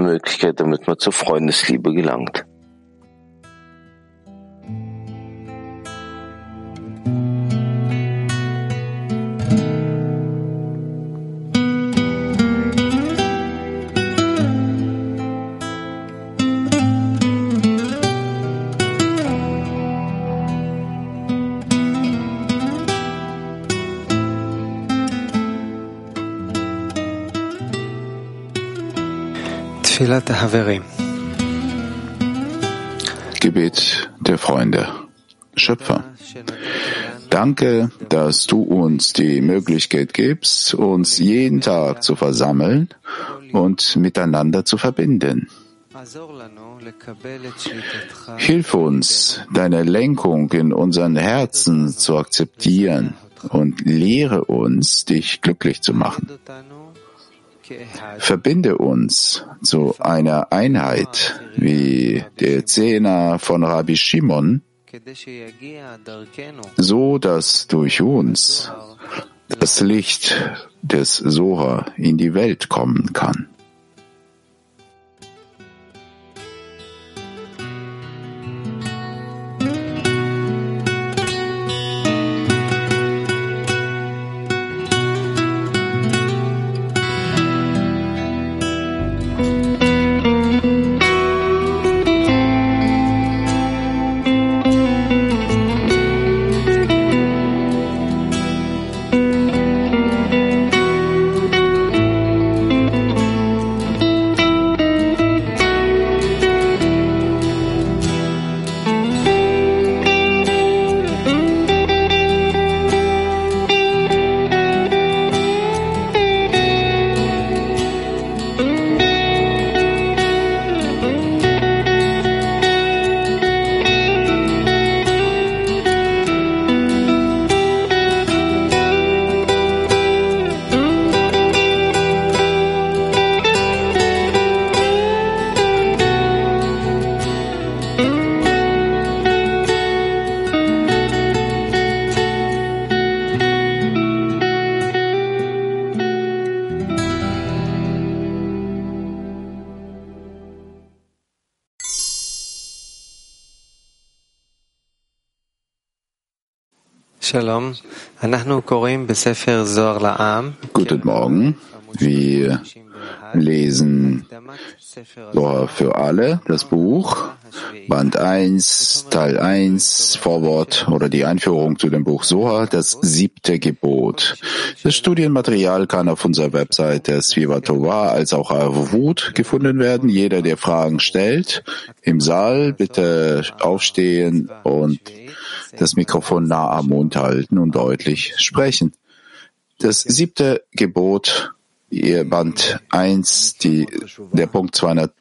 Möglichkeit, damit man zur Freundesliebe gelangt. Gebet der Freunde. Schöpfer, danke, dass du uns die Möglichkeit gibst, uns jeden Tag zu versammeln und miteinander zu verbinden. Hilf uns, deine Lenkung in unseren Herzen zu akzeptieren und lehre uns, dich glücklich zu machen. Verbinde uns zu einer Einheit wie der Zehner von Rabbi Shimon, so dass durch uns das Licht des Soha in die Welt kommen kann. Guten Morgen. Wir lesen Zohar für alle, das Buch, Band 1, Teil 1, Vorwort oder die Einführung zu dem Buch Zohar, das 7. Gebot. Das Studienmaterial kann auf unserer Webseite Sviva Tova als auch Arvut gefunden werden. Jeder, der Fragen stellt, im Saal bitte aufstehen und das Mikrofon nah am Mund halten und deutlich sprechen. Das 7. Gebot, Band 1, der Punkt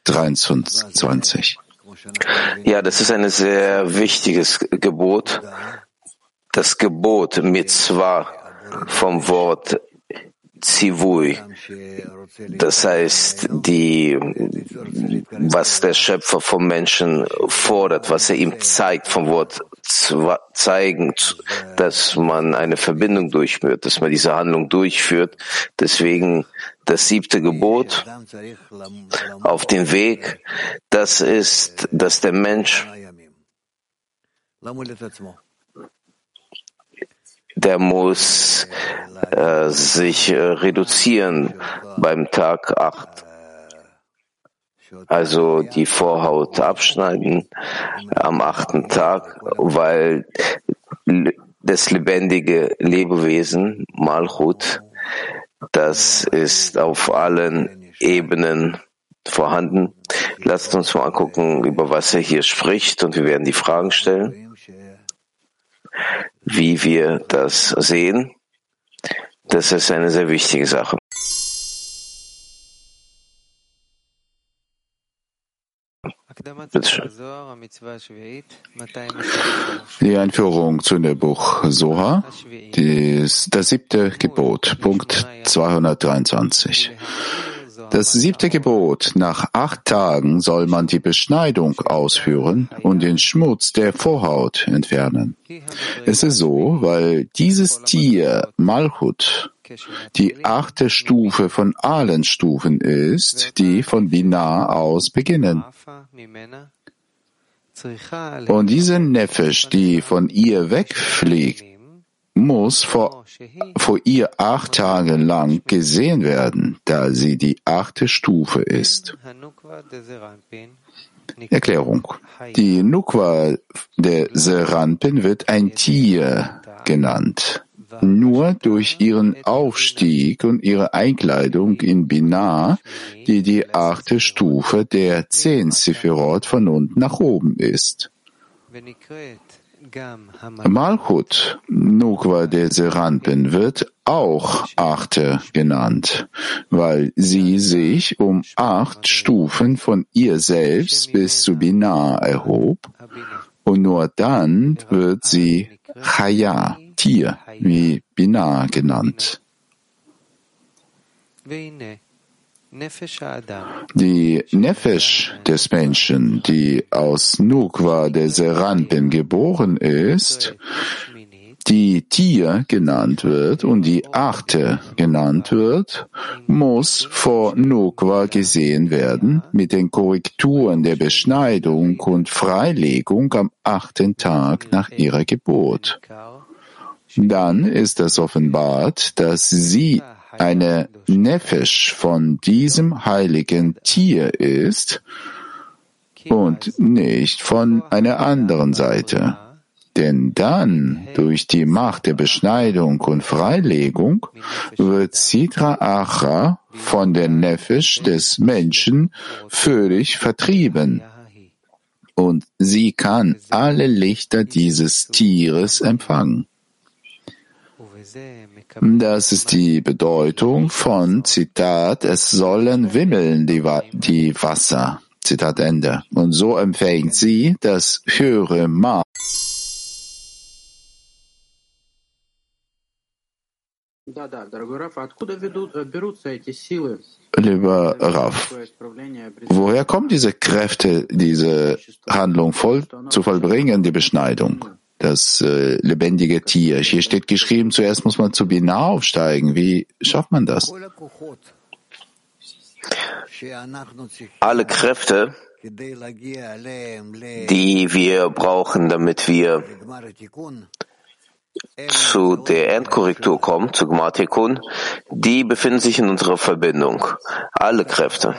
223. Ja, das ist ein sehr wichtiges Gebot. Das Gebot Mitzvah vom Wort Zivui. Das heißt, was der Schöpfer vom Menschen fordert, was er ihm zeigt, vom Wort zeigen, dass man eine Verbindung durchführt, dass man diese Handlung durchführt. Deswegen das 7. Gebot auf dem Weg, das ist, dass der Mensch, der muss sich reduzieren beim Tag 8. Also die Vorhaut abschneiden am 8. Tag, weil das lebendige Lebewesen, Malchut, das ist auf allen Ebenen vorhanden. Lasst uns mal angucken, über was er hier spricht, und wir werden die Fragen stellen, wie wir das sehen. Das ist eine sehr wichtige Sache. Die Einführung zu dem Buch Zohar, das 7. Gebot, Punkt 223. Das 7. Gebot: Nach 8 Tagen soll man die Beschneidung ausführen und den Schmutz der Vorhaut entfernen. Es ist so, weil dieses Tier, Malchut, die 8. Stufe von allen Stufen ist, die von Binah aus beginnen. Und diese Nefesh, die von ihr wegfliegt, muss vor ihr 8 Tage lang gesehen werden, da sie die 8. Stufe ist. Erklärung. Die Nukwa der Serampin wird ein Tier genannt. Nur durch ihren Aufstieg und ihre Einkleidung in Binah, die 8. Stufe der 10 Sephirot von unten nach oben ist. Malchut, Nukwa der Serampin, wird auch 8. genannt, weil sie sich um 8 Stufen von ihr selbst bis zu Binah erhob, und nur dann wird sie Chaya, Tier, wie Binah genannt. Die Nefesh des Menschen, die aus Nukwa der Serampin geboren ist, die Tier genannt wird und die 8. genannt wird, muss vor Nukwa gesehen werden mit den Korrekturen der Beschneidung und Freilegung am 8. Tag nach ihrer Geburt. Dann ist es offenbart, dass sie eine Nefesh von diesem heiligen Tier ist und nicht von einer anderen Seite. Denn dann, durch die Macht der Beschneidung und Freilegung, wird Sitra Achra von der Nefesh des Menschen völlig vertrieben. Und sie kann alle Lichter dieses Tieres empfangen. Das ist die Bedeutung von, Zitat, es sollen wimmeln die Wasser, Zitat Ende. Und so empfängt sie das höhere Maß. Lieber Rav, woher kommen diese Kräfte, diese Handlung zu vollbringen, die Beschneidung? Das lebendige Tier. Hier steht geschrieben, zuerst muss man zu Binah aufsteigen. Wie schafft man das? Alle Kräfte, die wir brauchen, damit wir zu der Endkorrektur kommen, zu Gmar Tikkun, die befinden sich in unserer Verbindung. Alle Kräfte.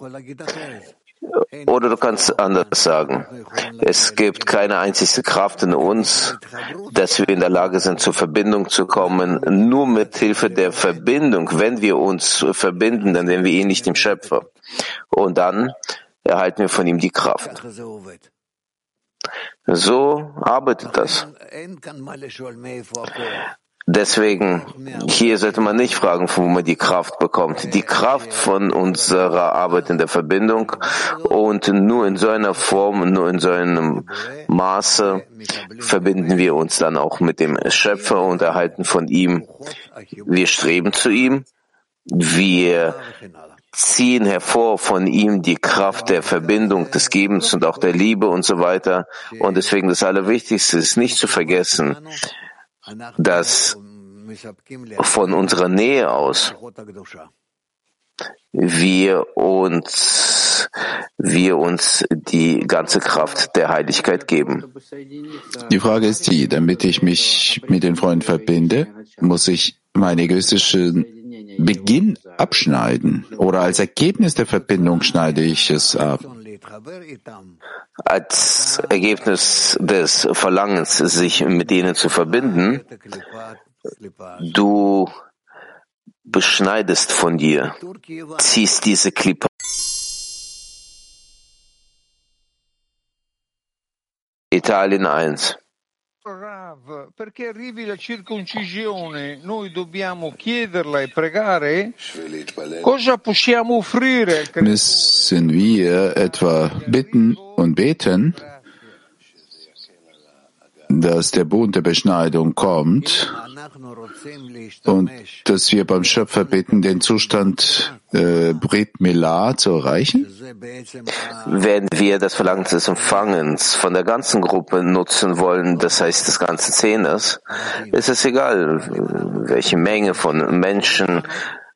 Oder du kannst anders sagen, es gibt keine einzige Kraft in uns, dass wir in der Lage sind, zur Verbindung zu kommen. Nur mit Hilfe der Verbindung, wenn wir uns verbinden, dann werden wir ähnlich dem Schöpfer. Und dann erhalten wir von ihm die Kraft. So arbeitet das. Deswegen, hier sollte man nicht fragen, von wo man die Kraft bekommt. Die Kraft von unserer Arbeit in der Verbindung, und nur in so einer Form, nur in so einem Maße verbinden wir uns dann auch mit dem Schöpfer und erhalten von ihm. Wir streben zu ihm, wir ziehen hervor von ihm die Kraft der Verbindung, des Gebens und auch der Liebe und so weiter. Und deswegen das Allerwichtigste ist nicht zu vergessen, dass von unserer Nähe aus wir uns die ganze Kraft der Heiligkeit geben. Die Frage ist die, damit ich mich mit den Freunden verbinde, muss ich meinen egoistischen Beginn abschneiden, oder als Ergebnis der Verbindung schneide ich es ab? Als Ergebnis des Verlangens, sich mit denen zu verbinden, du beschneidest von dir, ziehst diese Klippe. Italien 1. Rav, perché arrivi la circoncisione, noi dobbiamo chiederla e pregare? Cosa possiamo offrire? Müssen wir etwa bitten und beten? dass der Bund der Beschneidung kommt und dass wir beim Schöpfer bitten, den Zustand Brit Milah zu erreichen? Wenn wir das Verlangen des Empfangens von der ganzen Gruppe nutzen wollen, das heißt des ganzen Zehners, ist es egal, welche Menge von Menschen.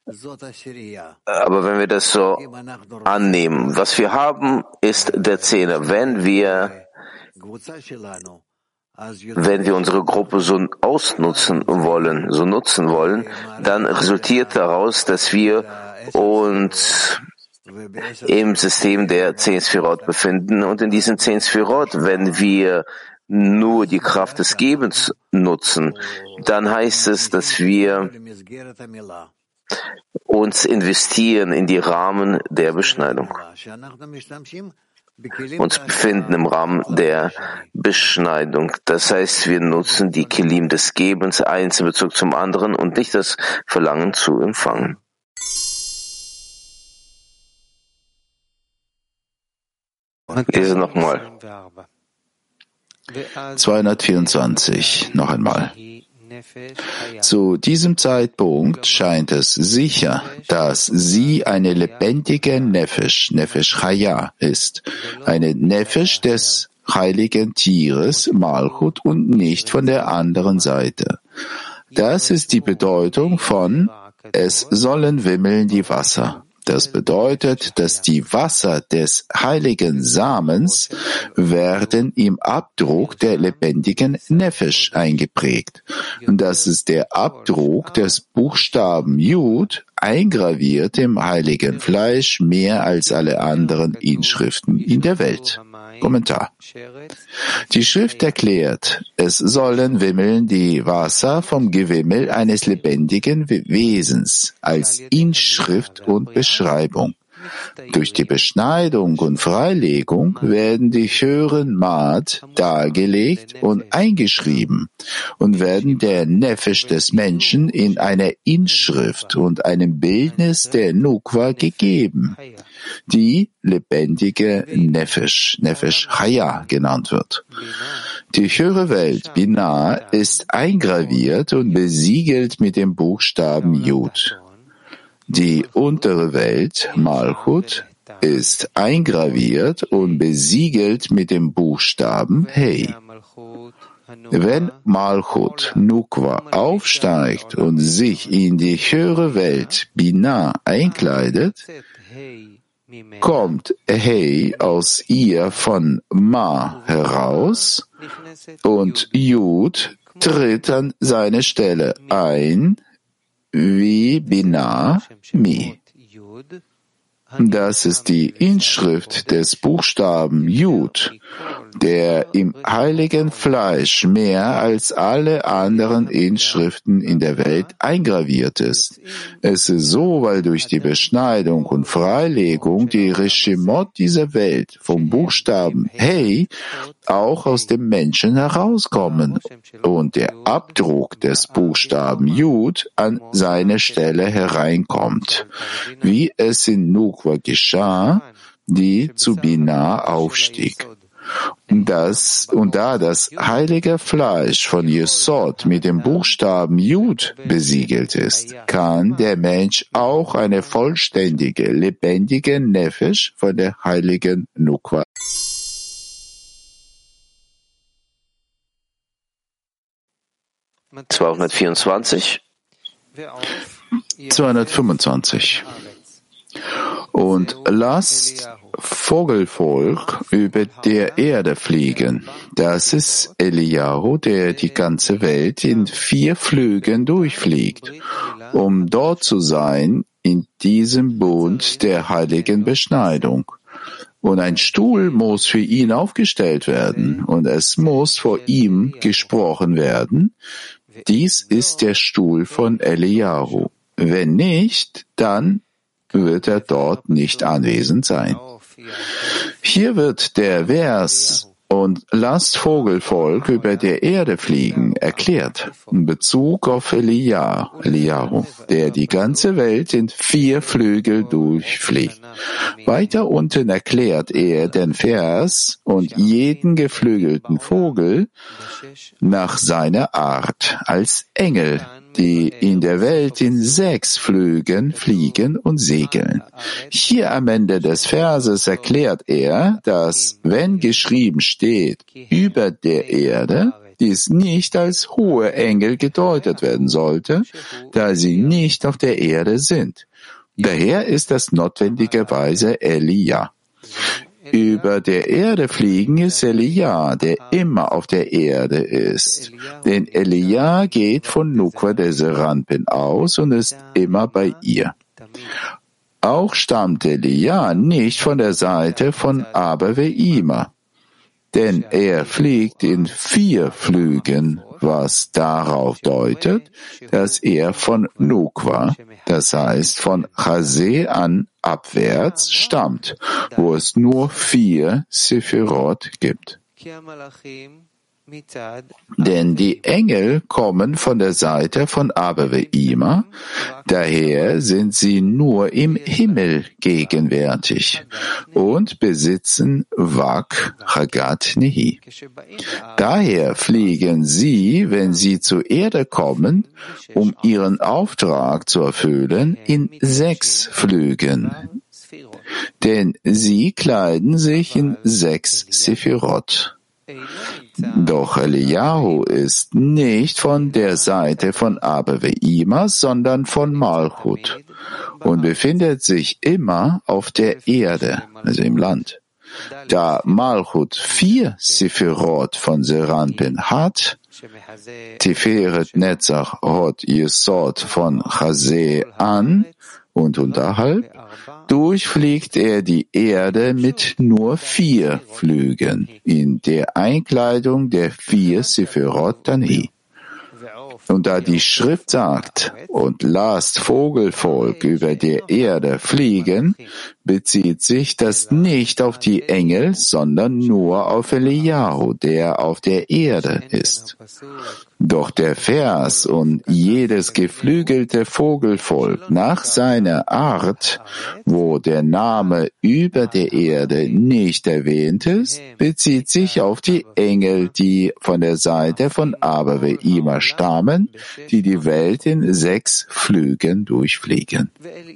Aber wenn wir das so annehmen, was wir haben, ist der Zehner. Wenn wir unsere Gruppe so nutzen wollen, dann resultiert daraus, dass wir uns im System der 10 Sphirot befinden. Und in diesen 10 Sphirot, wenn wir nur die Kraft des Gebens nutzen, dann heißt es, dass wir uns investieren in die Rahmen der Beschneidung. Uns befinden im Rahmen der Beschneidung. Das heißt, wir nutzen die Kelim des Gebens, eins in Bezug zum anderen und nicht das Verlangen zu empfangen. Lese nochmal. 224, noch einmal. Zu diesem Zeitpunkt scheint es sicher, dass sie eine lebendige Nefesh, Nefesh Chaya ist, eine Nefesh des heiligen Tieres, Malchut, und nicht von der anderen Seite. Das ist die Bedeutung von es sollen wimmeln die Wasser. Das bedeutet, dass die Wasser des heiligen Samens werden im Abdruck der lebendigen Nefesh eingeprägt. Und das ist der Abdruck des Buchstaben Jud, eingraviert im heiligen Fleisch, mehr als alle anderen Inschriften in der Welt. Kommentar. Die Schrift erklärt, es sollen wimmeln die Wasser vom Gewimmel eines lebendigen Wesens als Inschrift und Beschreibung. Durch die Beschneidung und Freilegung werden die höheren Maat dargelegt und eingeschrieben und werden der Nefesh des Menschen in einer Inschrift und einem Bildnis der Nukwa gegeben, die lebendige Nefesh, Nefesh Chaya genannt wird. Die höhere Welt, Binah, ist eingraviert und besiegelt mit dem Buchstaben Jud. Die untere Welt, Malchut, ist eingraviert und besiegelt mit dem Buchstaben Hey. Wenn Malchut, Nukwa, aufsteigt und sich in die höhere Welt, Binah, einkleidet, kommt Hey aus ihr von Ma heraus und Jud tritt an seine Stelle ein, wie Binah Mi. Das ist die Inschrift des Buchstaben Jud, der im heiligen Fleisch mehr als alle anderen Inschriften in der Welt eingraviert ist. Es ist so, weil durch die Beschneidung und Freilegung die Reshimot dieser Welt vom Buchstaben Hey auch aus dem Menschen herauskommen und der Abdruck des Buchstaben Jud an seine Stelle hereinkommt, wie es in Nukwa geschah, die zu Binah aufstieg. Und da das heilige Fleisch von Yesod mit dem Buchstaben Jud besiegelt ist, kann der Mensch auch eine vollständige, lebendige Nefesh von der heiligen Nukwa. (224) 225. Und lasst Vogelvolk über der Erde fliegen. Das ist Eliyahu, der die ganze Welt in 4 Flügen durchfliegt, um dort zu sein in diesem Bund der heiligen Beschneidung. Und ein Stuhl muss für ihn aufgestellt werden und es muss vor ihm gesprochen werden. Dies ist der Stuhl von Eliyahu. Wenn nicht, dann wird er dort nicht anwesend sein. Hier wird der Vers und lasst Vogelvolk über der Erde fliegen, erklärt in Bezug auf Eliyahu, der die ganze Welt in 4 Flügel durchfliegt. Weiter unten erklärt er den Vers und jeden geflügelten Vogel nach seiner Art als Engel, die in der Welt in 6 Flügen fliegen und segeln. Hier am Ende des Verses erklärt er, dass, wenn geschrieben steht, über der Erde, dies nicht als hohe Engel gedeutet werden sollte, da sie nicht auf der Erde sind. Daher ist das notwendigerweise Elia. Über der Erde fliegen ist Elia, der immer auf der Erde ist. Denn Elia geht von Nukwa der Serampin aus und ist immer bei ihr. Auch stammt Elia nicht von der Seite von Abaveima, denn er fliegt in 4 Flügen, was darauf deutet, dass er von Nukwa, das heißt von Chaseh an abwärts, stammt, wo es nur 4 Sephirot gibt. Denn die Engel kommen von der Seite von Abaveima, daher sind sie nur im Himmel gegenwärtig und besitzen Wak Chagat Nehi. Daher fliegen sie, wenn sie zur Erde kommen, um ihren Auftrag zu erfüllen, in 6 Flügen. Denn sie kleiden sich in 6 Sephirot. Doch Eliyahu ist nicht von der Seite von Abaveima, sondern von Malchut und befindet sich immer auf der Erde, also im Land. Da Malchut 4 Sephirot von Serampin hat, Tiferet Netzach Hod Yesod von Chaseh an und unterhalb, durchfliegt er die Erde mit nur 4 Flügen in der Einkleidung der 4 Sephirot Tani. Und da die Schrift sagt, und lasst Vogelvolk über der Erde fliegen, bezieht sich das nicht auf die Engel, sondern nur auf Eliyahu, der auf der Erde ist. Doch der Vers und jedes geflügelte Vogelvolk nach seiner Art, wo der Name über der Erde nicht erwähnt ist, bezieht sich auf die Engel, die von der Seite von Abaveima stammen, die die Welt in 6 Flügen durchfliegen.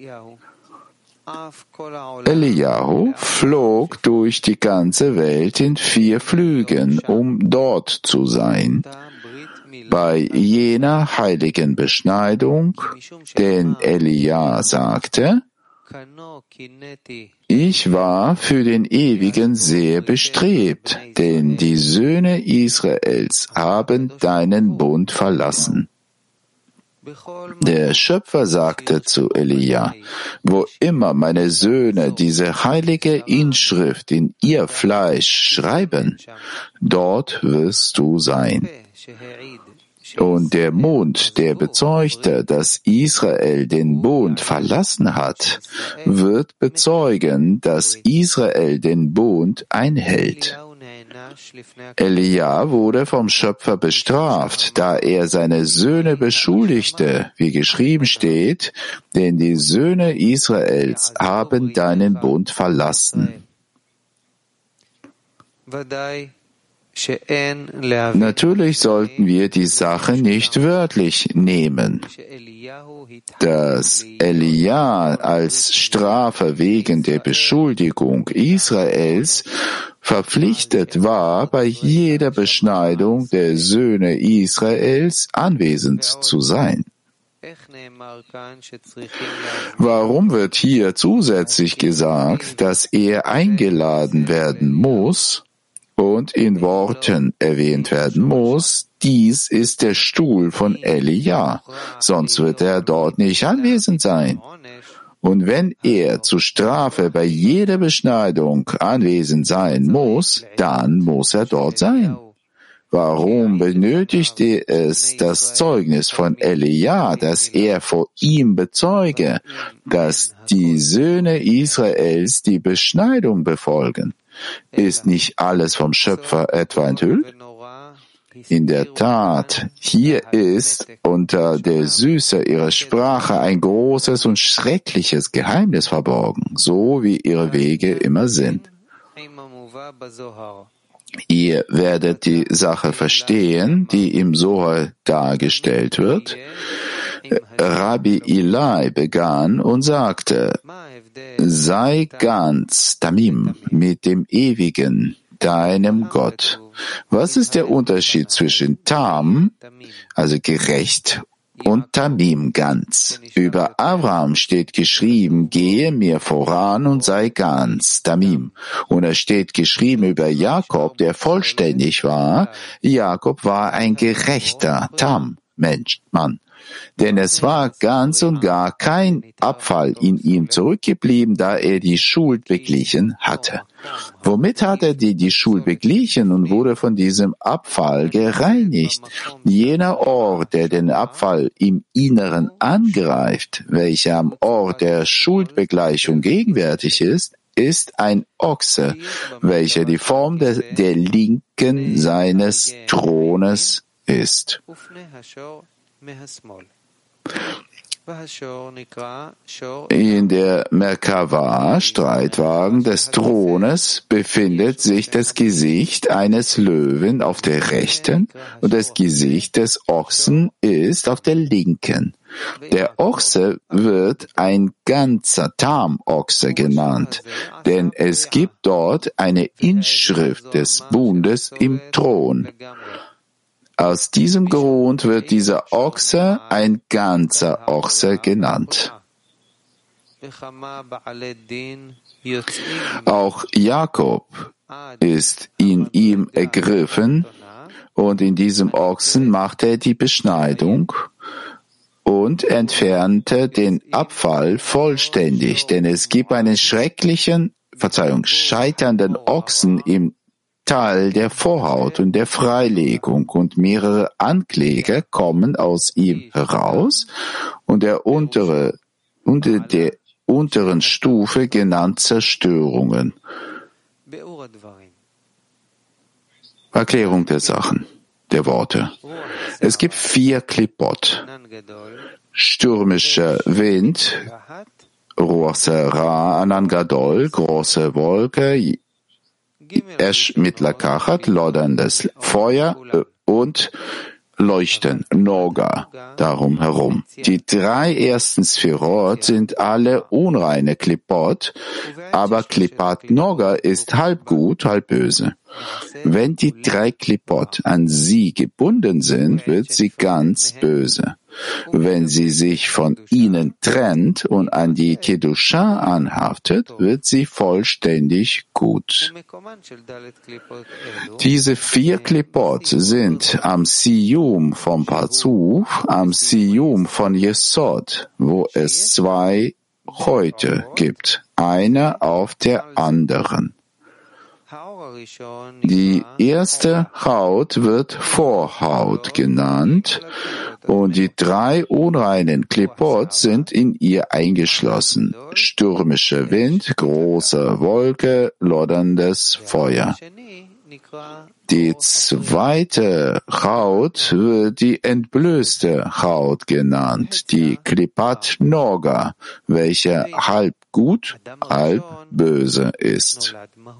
Eliyahu flog durch die ganze Welt in 4 Flügen, um dort zu sein, bei jener heiligen Beschneidung, denn Elia sagte, ich war für den Ewigen sehr bestrebt, denn die Söhne Israels haben deinen Bund verlassen. Der Schöpfer sagte zu Elia, wo immer meine Söhne diese heilige Inschrift in ihr Fleisch schreiben, dort wirst du sein. Und der Mund, der bezeugte, dass Israel den Bund verlassen hat, wird bezeugen, dass Israel den Bund einhält. Elia wurde vom Schöpfer bestraft, da er seine Söhne beschuldigte, wie geschrieben steht, denn die Söhne Israels haben deinen Bund verlassen. Natürlich sollten wir die Sache nicht wörtlich nehmen. Dass Elia als Strafe wegen der Beschuldigung Israels verpflichtet war, bei jeder Beschneidung der Söhne Israels anwesend zu sein. Warum wird hier zusätzlich gesagt, dass er eingeladen werden muss und in Worten erwähnt werden muss, dies ist der Stuhl von Elia, sonst wird er dort nicht anwesend sein. Und wenn er zur Strafe bei jeder Beschneidung anwesend sein muss, dann muss er dort sein. Warum benötigte es das Zeugnis von Elia, dass er vor ihm bezeuge, dass die Söhne Israels die Beschneidung befolgen? Ist nicht alles vom Schöpfer etwa enthüllt? In der Tat, hier ist unter der Süße ihrer Sprache ein großes und schreckliches Geheimnis verborgen, so wie ihre Wege immer sind. Ihr werdet die Sache verstehen, die im Sohar dargestellt wird. Rabbi Ilai begann und sagte, sei ganz Tamim mit dem Ewigen, deinem Gott. Was ist der Unterschied zwischen Tam, also gerecht, und Tamim, ganz? Über Abraham steht geschrieben, gehe mir voran und sei ganz, Tamim. Und es steht geschrieben über Jakob, der vollständig war. Jakob war ein gerechter Tam, Mann. Denn es war ganz und gar kein Abfall in ihm zurückgeblieben, da er die Schuld beglichen hatte. Womit hat er die Schuld beglichen und wurde von diesem Abfall gereinigt? Jener Ort, der den Abfall im Inneren angreift, welcher am Ort der Schuldbegleichung gegenwärtig ist ein Ochse, welcher die Form der Linken seines Thrones ist. In der Merkava, Streitwagen des Thrones, befindet sich das Gesicht eines Löwen auf der rechten und das Gesicht des Ochsen ist auf der linken. Der Ochse wird ein ganzer Tam-Ochse genannt, denn es gibt dort eine Inschrift des Bundes im Thron. Aus diesem Grund wird dieser Ochse ein ganzer Ochse genannt. Auch Jakob ist in ihm ergriffen und in diesem Ochsen machte er die Beschneidung und entfernte den Abfall vollständig, denn es gibt einen scheiternden Ochsen im Teil der Vorhaut und der Freilegung und mehrere Ankläger kommen aus ihm heraus und der unter der unteren Stufe genannt Zerstörungen. Erklärung der Sachen, der Worte. Es gibt 4 Klippot. Stürmischer Wind, Ruach Sera, Anan Gadol, große Wolke, Esh mit Lakachat, lodderndes Feuer und Leuchten, Noga, darum herum. Die 3 ersten Sphirot sind alle unreine Klippot, aber Klippat Noga ist halb gut, halb böse. Wenn die 3 Klippot an sie gebunden sind, wird sie ganz böse. Wenn sie sich von ihnen trennt und an die Kedusha anhaftet, wird sie vollständig gut. Diese 4 Klippot sind am Siyum vom Parzuf, am Siyum von Yesod, wo es 2 Häute gibt, eine auf der anderen. Die erste Haut wird Vorhaut genannt und die 3 unreinen Klippot sind in ihr eingeschlossen. Stürmischer Wind, große Wolke, lodderndes Feuer. Die zweite Haut wird die entblößte Haut genannt, die Klippat Noga, welche halb gut, halb böse ist.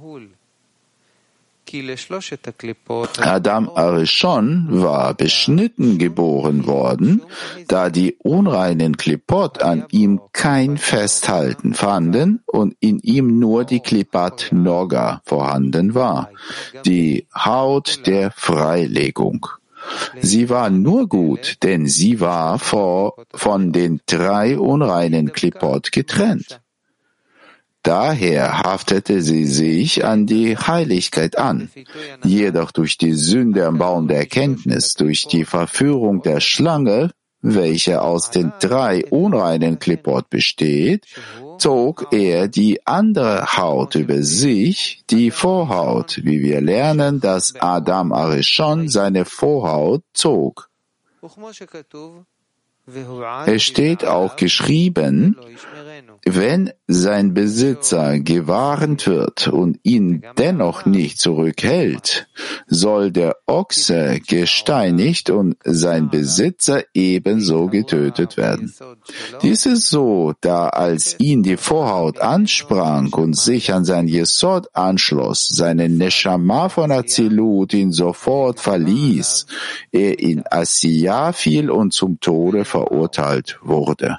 Adam Arishon war beschnitten geboren worden, da die unreinen Klippot an ihm kein Festhalten fanden und in ihm nur die Klippat Noga vorhanden war, die Haut der Freilegung. Sie war nur gut, denn sie war von den 3 unreinen Klippot getrennt. Daher haftete sie sich an die Heiligkeit an. Jedoch durch die Sünde am Baum der Erkenntnis, durch die Verführung der Schlange, welche aus den 3 unreinen Klippot besteht, zog er die andere Haut über sich, die Vorhaut, wie wir lernen, dass Adam Arishon seine Vorhaut zog. Es steht auch geschrieben, wenn sein Besitzer gewarnt wird und ihn dennoch nicht zurückhält, soll der Ochse gesteinigt und sein Besitzer ebenso getötet werden. Dies ist so, da als ihn die Vorhaut ansprang und sich an sein Jesod anschloss, seine Neshama von Azilut ihn sofort verließ, er in Asiyah fiel und zum Tode verurteilt wurde.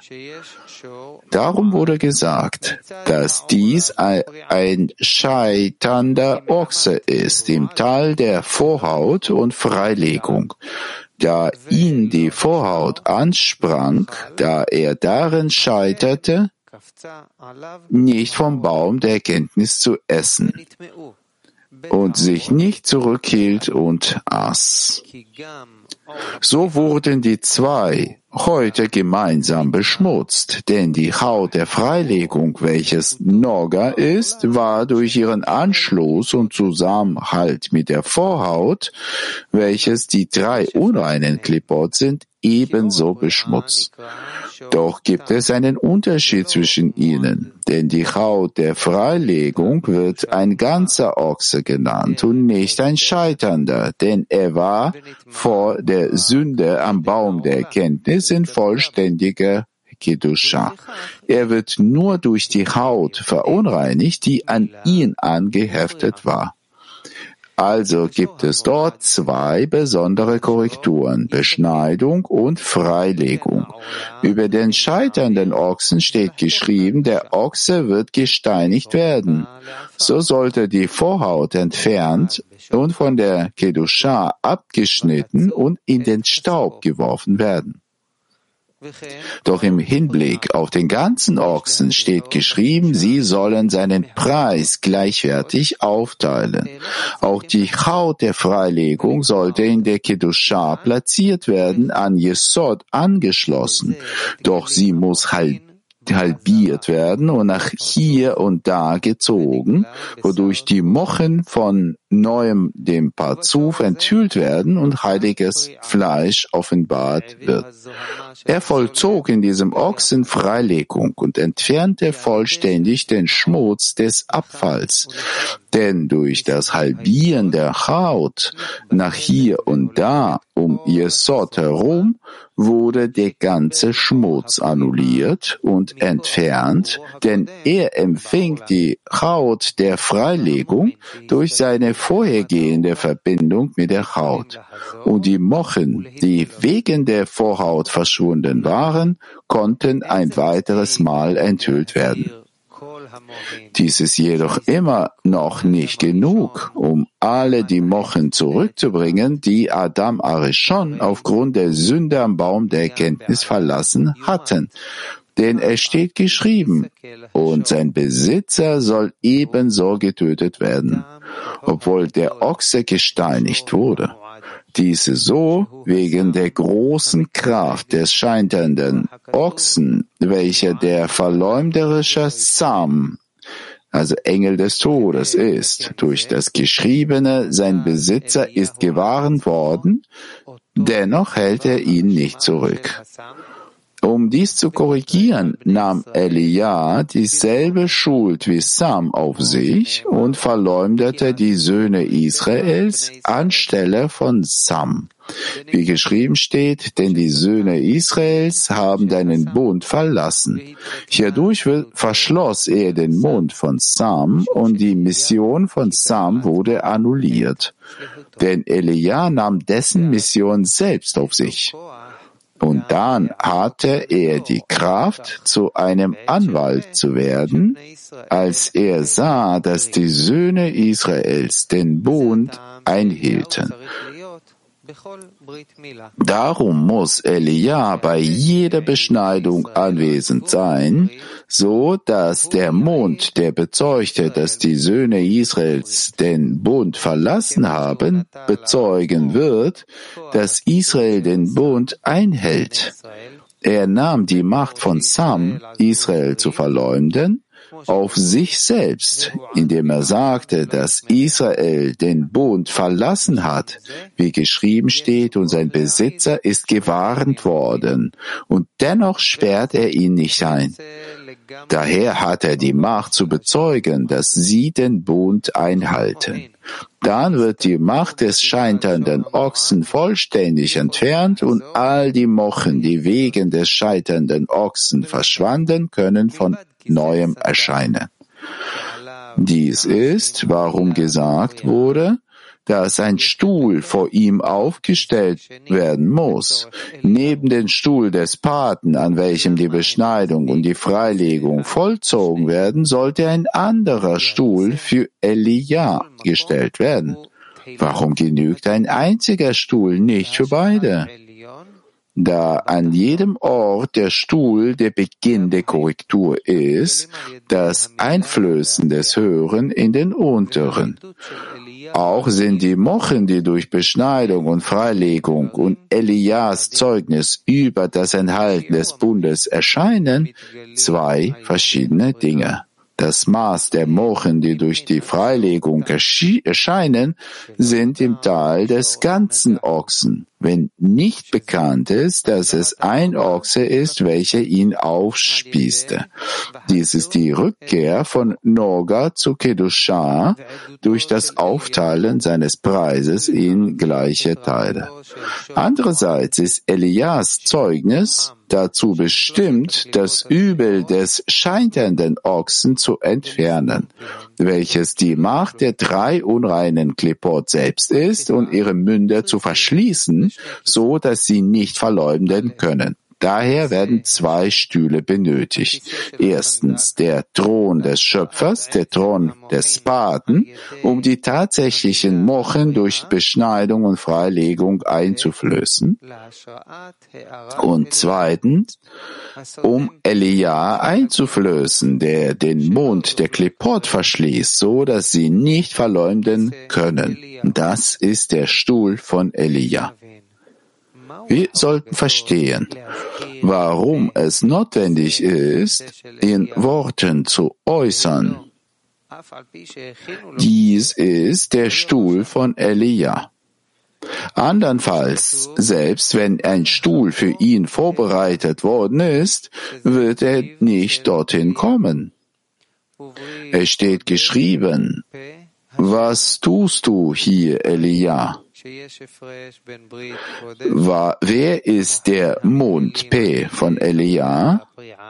Darum wurde gesagt, dass dies ein scheiternder Ochse ist im Tal der Vorhaut und Freilegung, da ihn die Vorhaut ansprang, da er darin scheiterte, nicht vom Baum der Erkenntnis zu essen und sich nicht zurückhielt und aß. So wurden die zwei heute gemeinsam beschmutzt, denn die Haut der Freilegung, welches Noga ist, war durch ihren Anschluss und Zusammenhalt mit der Vorhaut, welches die drei unreinen Klippot sind, ebenso beschmutzt. Doch gibt es einen Unterschied zwischen ihnen, denn die Haut der Freilegung wird ein ganzer Ochse genannt und nicht ein scheiternder, denn er war vor der Sünde am Baum der Erkenntnis in vollständiger Kedusha. Er wird nur durch die Haut verunreinigt, die an ihn angeheftet war. Also gibt es dort zwei besondere Korrekturen, Beschneidung und Freilegung. Über den scheiternden Ochsen steht geschrieben, der Ochse wird gesteinigt werden. So sollte die Vorhaut entfernt und von der Kedusha abgeschnitten und in den Staub geworfen werden. Doch im Hinblick auf den ganzen Ochsen steht geschrieben, sie sollen seinen Preis gleichwertig aufteilen. Auch die Haut der Freilegung sollte in der Kedusha platziert werden, an Jesod angeschlossen. Doch sie muss halbiert werden und nach hier und da gezogen, wodurch die Mochen von neuem dem Parzuf enthüllt werden und heiliges Fleisch offenbart wird. Er vollzog in diesem Ochsen Freilegung und entfernte vollständig den Schmutz des Abfalls. Denn durch das Halbieren der Haut nach hier und da um Jesod herum wurde der ganze Schmutz annulliert und entfernt, denn er empfing die Haut der Freilegung durch seine vorhergehende Verbindung mit der Haut. Und die Mochen, die wegen der Vorhaut verschwunden waren, konnten ein weiteres Mal enthüllt werden. Dies ist jedoch immer noch nicht genug, um alle die Mochen zurückzubringen, die Adam Arishon aufgrund der Sünde am Baum der Erkenntnis verlassen hatten. Denn es steht geschrieben, und sein Besitzer soll ebenso getötet werden, obwohl der Ochse gesteinigt wurde. Diese so wegen der großen Kraft des scheiternden Ochsen, welcher der verleumderische Sam, also Engel des Todes ist. Durch das Geschriebene, sein Besitzer ist gewarnt worden, dennoch hält er ihn nicht zurück. Um dies zu korrigieren, nahm Elia dieselbe Schuld wie Sam auf sich und verleumdete die Söhne Israels anstelle von Sam. Wie geschrieben steht, denn die Söhne Israels haben deinen Bund verlassen. Hierdurch verschloss er den Mund von Sam und die Mission von Sam wurde annulliert. Denn Elia nahm dessen Mission selbst auf sich. Und dann hatte er die Kraft, zu einem Anwalt zu werden, als er sah, dass die Söhne Israels den Bund einhielten. Darum muss Elia bei jeder Beschneidung anwesend sein, so dass der Mund, der bezeugte, dass die Söhne Israels den Bund verlassen haben, bezeugen wird, dass Israel den Bund einhält. Er nahm die Macht von Sam, Israel zu verleumden, auf sich selbst, indem er sagte, dass Israel den Bund verlassen hat, wie geschrieben steht, und sein Besitzer ist gewarnt worden, und dennoch sperrt er ihn nicht ein. Daher hat er die Macht zu bezeugen, dass sie den Bund einhalten. Dann wird die Macht des scheiternden Ochsen vollständig entfernt und all die Mochen, die wegen des scheiternden Ochsen verschwanden, können von neuem erscheinen. Dies ist, warum gesagt wurde, dass ein Stuhl vor ihm aufgestellt werden muss. Neben den Stuhl des Paten, an welchem die Beschneidung und die Freilegung vollzogen werden, sollte ein anderer Stuhl für Elia gestellt werden. Warum genügt ein einziger Stuhl nicht für beide? Da an jedem Ort der Stuhl der Beginn der Korrektur ist, das Einflößen des Höheren in den Unteren. Auch sind die Mochen, die durch Beschneidung und Freilegung und Elias Zeugnis über das Enthalten des Bundes erscheinen, zwei verschiedene Dinge. Das Maß der Mochen, die durch die Freilegung erscheinen, sind im Tal des ganzen Ochsen, wenn nicht bekannt ist, dass es ein Ochse ist, welcher ihn aufspießte. Dies ist die Rückkehr von Noga zu Kedusha durch das Aufteilen seines Preises in gleiche Teile. Andererseits ist Elias Zeugnis dazu bestimmt, das Übel des scheiternden Ochsen zu entfernen, welches die Macht der drei unreinen Klippot selbst ist, und ihre Münder zu verschließen, so dass sie nicht verleumden können. Daher werden zwei Stühle benötigt. Erstens der Thron des Schöpfers, der Thron des Paten, um die tatsächlichen Mochen durch Beschneidung und Freilegung einzuflößen. Und zweitens, um Elia einzuflößen, der den Mund der Klippot verschließt, so dass sie nicht verleumden können. Das ist der Stuhl von Elia. Wir sollten verstehen, warum es notwendig ist, in Worten zu äußern. Dies ist der Stuhl von Elia. Andernfalls, selbst wenn ein Stuhl für ihn vorbereitet worden ist, wird er nicht dorthin kommen. Es steht geschrieben, was tust du hier, Elia? Wer ist der Mund P von Elia?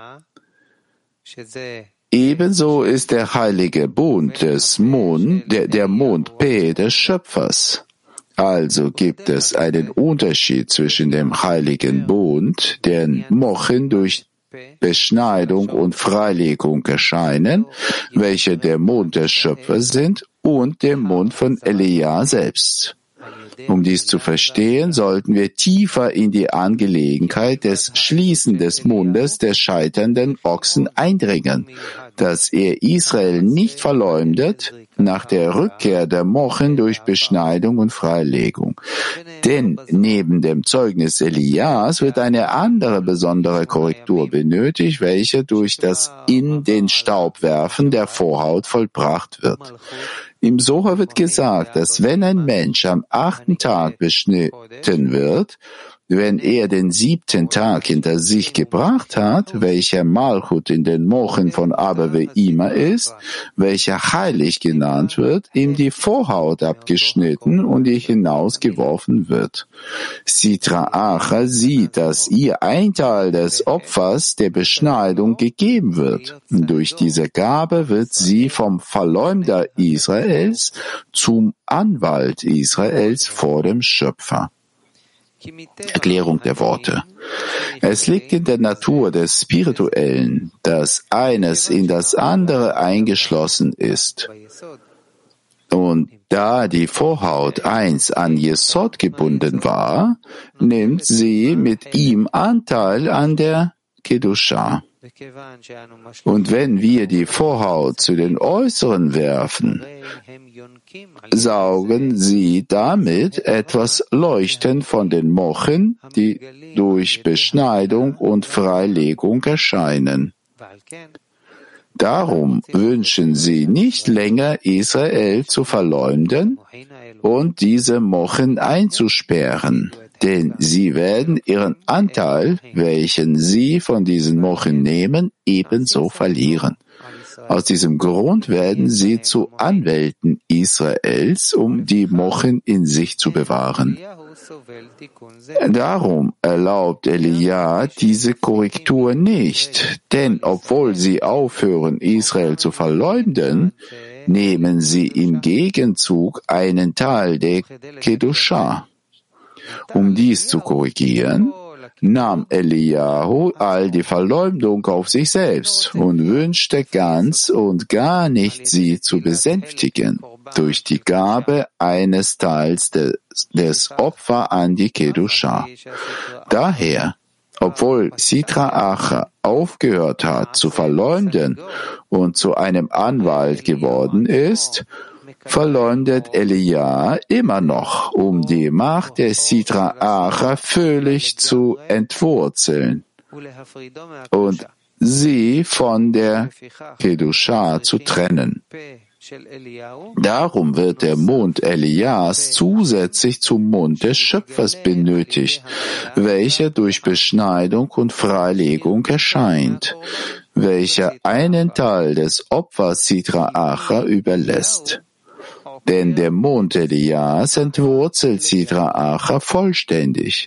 Ebenso ist der heilige Bund des der Mund P des Schöpfers. Also gibt es einen Unterschied zwischen dem heiligen Bund, deren Mochen durch Beschneidung und Freilegung erscheinen, welche der Mund des Schöpfers sind, und dem Mund von Elia selbst. Um dies zu verstehen, sollten wir tiefer in die Angelegenheit des Schließen des Mundes des scheiternden Ochsen eindringen, dass er Israel nicht verleumdet nach der Rückkehr der Mochen durch Beschneidung und Freilegung. Denn neben dem Zeugnis Elias wird eine andere besondere Korrektur benötigt, welche durch das in den Staub werfen der Vorhaut vollbracht wird. Im Soha wird gesagt, dass wenn ein Mensch am 8. Tag beschnitten wird, wenn er den 7. Tag hinter sich gebracht hat, welcher Malchut in den Mochen von Abba Ve'ima ist, welcher heilig genannt wird, ihm die Vorhaut abgeschnitten und ihr hinausgeworfen wird. Sitra Acha sieht, dass ihr ein Teil des Opfers der Beschneidung gegeben wird. Durch diese Gabe wird sie vom Verleumder Israels zum Anwalt Israels vor dem Schöpfer. Erklärung der Worte. Es liegt in der Natur des Spirituellen, dass eines in das andere eingeschlossen ist. Und da die Vorhaut einst an Jesod gebunden war, nimmt sie mit ihm Anteil an der Kedusha. Und wenn wir die Vorhaut zu den Äußeren werfen, saugen sie damit etwas Leuchten von den Mochen, die durch Beschneidung und Freilegung erscheinen. Darum wünschen sie nicht länger, Israel zu verleumden und diese Mochen einzusperren, denn sie werden ihren Anteil, welchen sie von diesen Mochen nehmen, ebenso verlieren. Aus diesem Grund werden sie zu Anwälten Israels, um die Mochen in sich zu bewahren. Darum erlaubt Elia diese Korrektur nicht, denn obwohl sie aufhören, Israel zu verleumden, nehmen sie im Gegenzug einen Teil der Kedusha. Um dies zu korrigieren, nahm Eliyahu all die Verleumdung auf sich selbst und wünschte ganz und gar nicht, sie zu besänftigen durch die Gabe eines Teils des Opfer an die Kedusha. Daher, obwohl Sitra Acha aufgehört hat zu verleumden und zu einem Anwalt geworden ist, verleumdet Elia immer noch, um die Macht der Sitra Acha völlig zu entwurzeln und sie von der Kedusha zu trennen. Darum wird der Mund Elias zusätzlich zum Mund des Schöpfers benötigt, welcher durch Beschneidung und Freilegung erscheint, welcher einen Teil des Opfers Sitra Acha überlässt. Denn der Mund Elias entwurzelt Sitra Acha vollständig.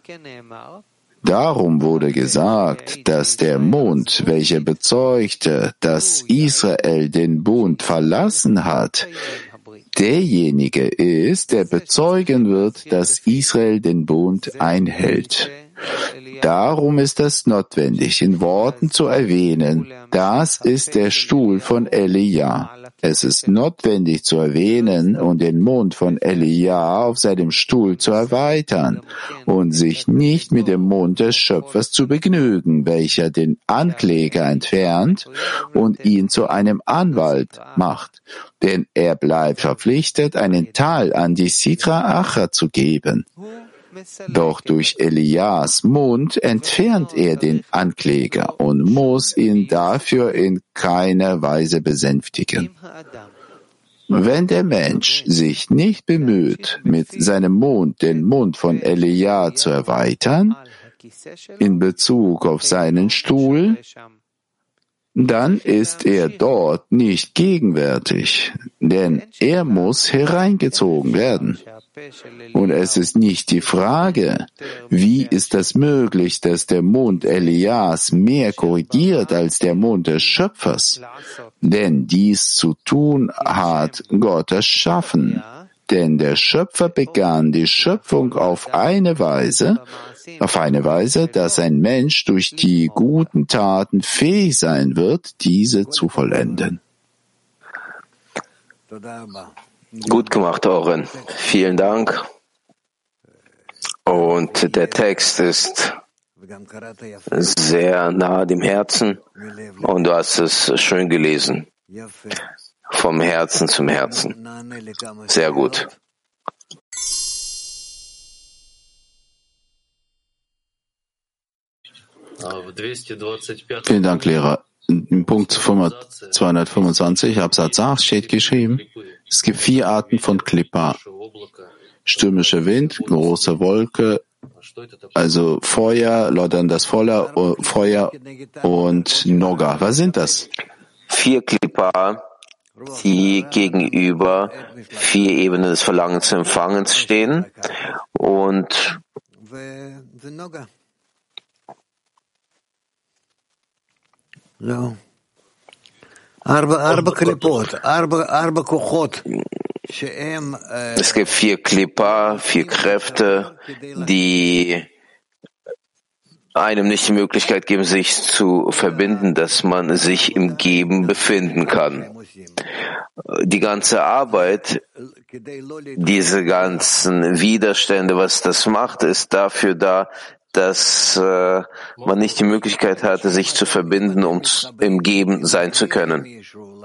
Darum wurde gesagt, dass der Mund, welcher bezeugte, dass Israel den Bund verlassen hat, derjenige ist, der bezeugen wird, dass Israel den Bund einhält. Darum ist es notwendig, in Worten zu erwähnen, das ist der Stuhl von Elia. Es ist notwendig zu erwähnen und den Mund von Elia auf seinem Stuhl zu erweitern und sich nicht mit dem Mund des Schöpfers zu begnügen, welcher den Ankläger entfernt und ihn zu einem Anwalt macht, denn er bleibt verpflichtet, einen Teil an die Sitra Acha zu geben. Doch durch Elias Mund entfernt er den Ankläger und muss ihn dafür in keiner Weise besänftigen. Wenn der Mensch sich nicht bemüht, mit seinem Mund den Mund von Elia zu erweitern, in Bezug auf seinen Stuhl, dann ist er dort nicht gegenwärtig, denn er muss hereingezogen werden. Und es ist nicht die Frage, wie ist es möglich, dass der Mund Elias mehr korrigiert als der Mund des Schöpfers? Denn dies zu tun hat Gott erschaffen. Denn der Schöpfer begann die Schöpfung auf eine Weise, dass ein Mensch durch die guten Taten fähig sein wird, diese zu vollenden. Gut gemacht, Oren. Vielen Dank. Und der Text ist sehr nahe dem Herzen und du hast es schön gelesen. Vom Herzen zum Herzen. Sehr gut. Vielen Dank, Lehrer. Im Punkt 225, Absatz 8 steht geschrieben, es gibt 4 Arten von Klippa. Stürmischer Wind, große Wolke, also Feuer, lodderndes Feuer und Noga. Was sind das? 4 Klippa, die gegenüber 4 Ebenen des Verlangens zu Empfangens stehen und es gibt 4 Klippa, 4 Kräfte, die einem nicht die Möglichkeit geben, sich zu verbinden, dass man sich im Geben befinden kann. Die ganze Arbeit, diese ganzen Widerstände, was das macht, ist dafür da, dass man nicht die Möglichkeit hatte, sich zu verbinden, um im Geben sein zu können.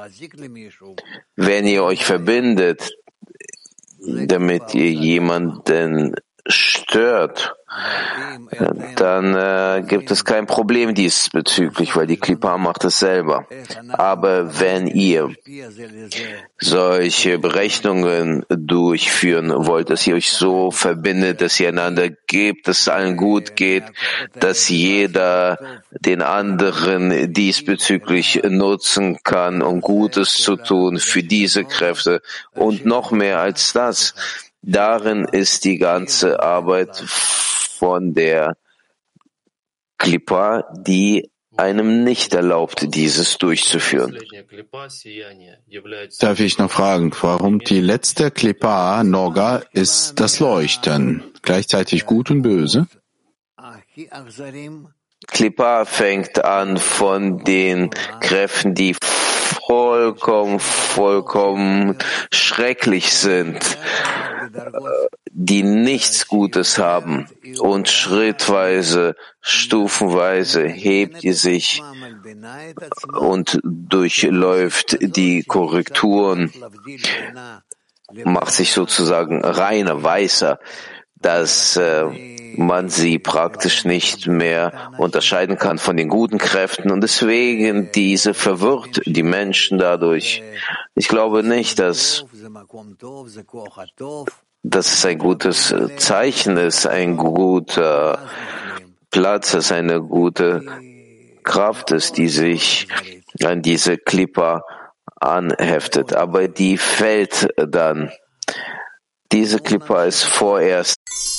Wenn ihr euch verbindet, damit ihr jemanden stört dann gibt es kein Problem diesbezüglich, weil die Klippa macht es selber. Aber wenn ihr solche Berechnungen durchführen wollt, dass ihr euch so verbindet, dass ihr einander gebt, dass es allen gut geht, dass jeder den anderen diesbezüglich nutzen kann, um Gutes zu tun für diese Kräfte und noch mehr als das, darin ist die ganze Arbeit von der Klippa, die einem nicht erlaubt, dieses durchzuführen. Darf ich noch fragen, warum die letzte Klippa, Noga, ist das Leuchten, gleichzeitig gut und böse? Klippa fängt an von den Kräften, die vollkommen schrecklich sind, die nichts Gutes haben. Und schrittweise, stufenweise hebt die sich und durchläuft die Korrekturen, macht sich sozusagen reiner, weißer, dass man sie praktisch nicht mehr unterscheiden kann von den guten Kräften und deswegen diese verwirrt die Menschen dadurch. Ich glaube nicht, dass es ein gutes Zeichen ist, ein guter Platz ist, eine gute Kraft ist, die sich an diese Klippa anheftet. Aber die fällt dann. Diese Klippa ist vorerst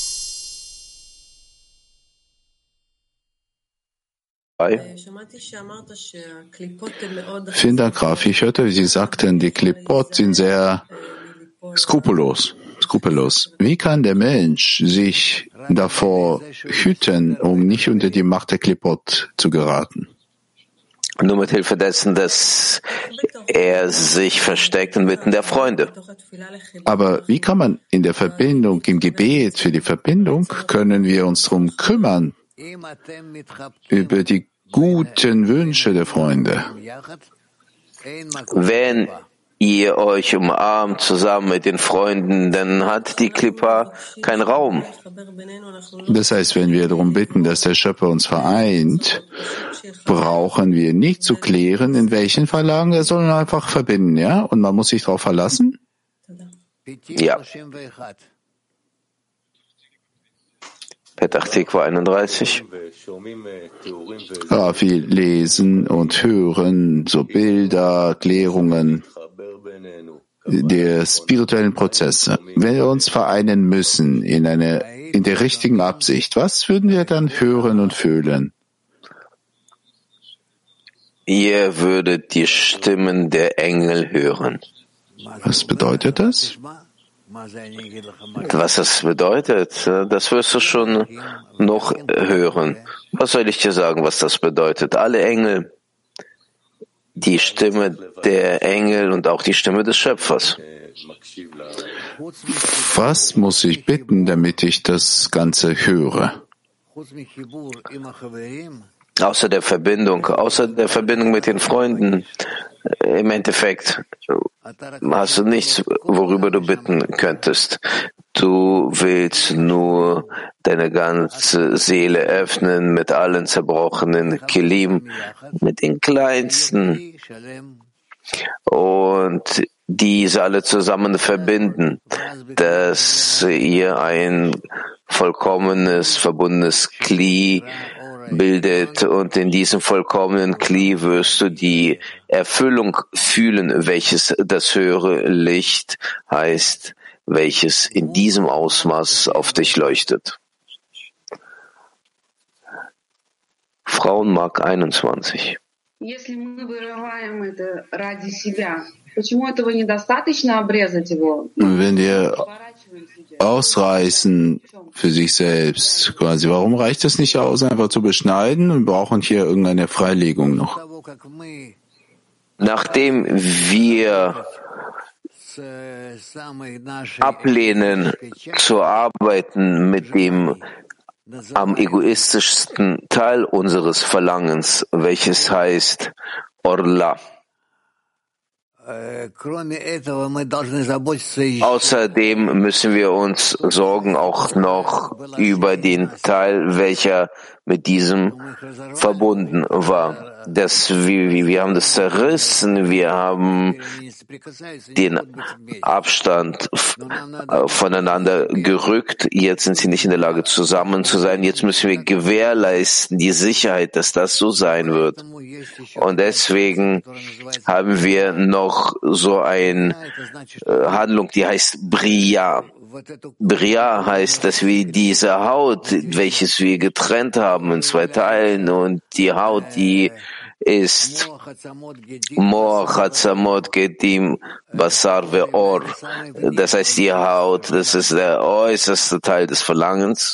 Vielen Dank, Raf. Ich hörte, wie Sie sagten, die Klippot sind sehr skrupellos. Wie kann der Mensch sich davor hüten, um nicht unter die Macht der Klippot zu geraten? Nur mit Hilfe dessen, dass er sich versteckt inmitten der Freunde. Aber wie kann man in der Verbindung, im Gebet für die Verbindung, können wir uns darum kümmern, über die guten Wünsche der Freunde? Wenn ihr euch umarmt zusammen mit den Freunden, dann hat die Klippa keinen Raum. Das heißt, wenn wir darum bitten, dass der Schöpfer uns vereint, brauchen wir nicht zu klären, in welchen Verlagen, er soll einfach verbinden, ja? Und man muss sich darauf verlassen? Ja. Petach Tikva 31. Ja, wir lesen und hören so Bilder, Erklärungen der spirituellen Prozesse. Wenn wir uns vereinen müssen in der richtigen Absicht, was würden wir dann hören und fühlen? Ihr würdet die Stimmen der Engel hören. Was bedeutet das? Was das bedeutet, das wirst du schon noch hören. Was soll ich dir sagen, was das bedeutet? Alle Engel, die Stimme der Engel und auch die Stimme des Schöpfers. Was muss ich bitten, damit ich das Ganze höre? Außer der Verbindung mit den Freunden. Im Endeffekt hast du nichts, worüber du bitten könntest. Du willst nur deine ganze Seele öffnen mit allen zerbrochenen Kelim, mit den kleinsten und diese alle zusammen verbinden, dass ihr ein vollkommenes, verbundenes Kli bildet und in diesem vollkommenen Kli wirst du die Erfüllung fühlen, welches das höhere Licht heißt, welches in diesem Ausmaß auf dich leuchtet. Frauenmark 21. Wenn wir ausreißen für sich selbst, quasi, warum reicht es nicht aus, einfach zu beschneiden und brauchen hier irgendeine Freilegung noch? Nachdem wir ablehnen zu arbeiten mit dem am egoistischsten Teil unseres Verlangens, welches heißt Orla. Außerdem müssen wir uns sorgen auch noch über den Teil, welcher mit diesem verbunden war. Wir haben das zerrissen, wir haben den Abstand voneinander gerückt. Jetzt sind sie nicht in der Lage, zusammen zu sein. Jetzt müssen wir gewährleisten, die Sicherheit, dass das so sein wird. Und deswegen haben wir noch so eine Handlung, die heißt Bria. Bria heißt, dass wir diese Haut, welches wir getrennt haben in zwei Teilen, und die Haut, die ist Moach, Hatzamot, Gedim, Basar ve'or. Das heißt, die Haut, das ist der äußerste Teil des Verlangens.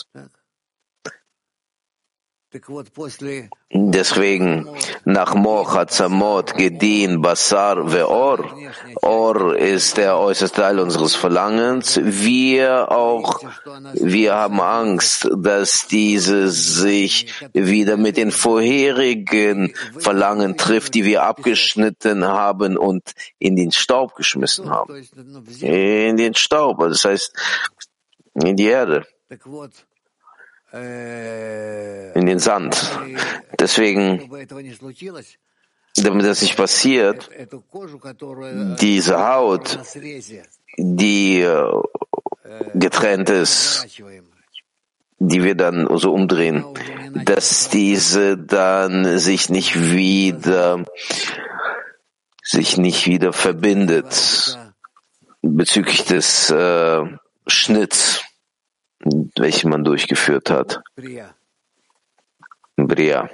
Deswegen, nach Moach, Hatzamot, Gedin, Basar, Ve'or, Or ist der äußerste Teil unseres Verlangens. Wir haben Angst, dass diese sich wieder mit den vorherigen Verlangen trifft, die wir abgeschnitten haben und in den Staub geschmissen haben. In den Staub, das heißt, in die Erde. In den Sand. Deswegen, damit das nicht passiert, diese Haut, die getrennt ist, die wir dann so umdrehen, dass diese dann sich nicht wieder verbindet bezüglich des Schnitts, welchen man durchgeführt hat. Bria.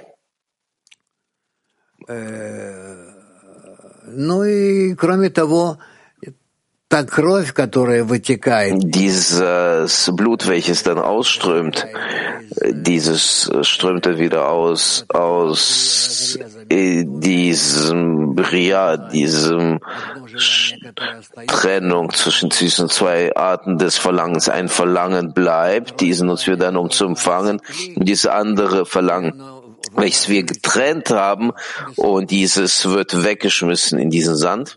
Dieses Blut, welches dann ausströmt, dieses strömt dann wieder aus diesem Bria, diesem Trennung zwischen diesen zwei Arten des Verlangens. Ein Verlangen bleibt, diesen nutzen wir dann, um zu empfangen, und dieses andere Verlangen, welches wir getrennt haben, und dieses wird weggeschmissen in diesen Sand,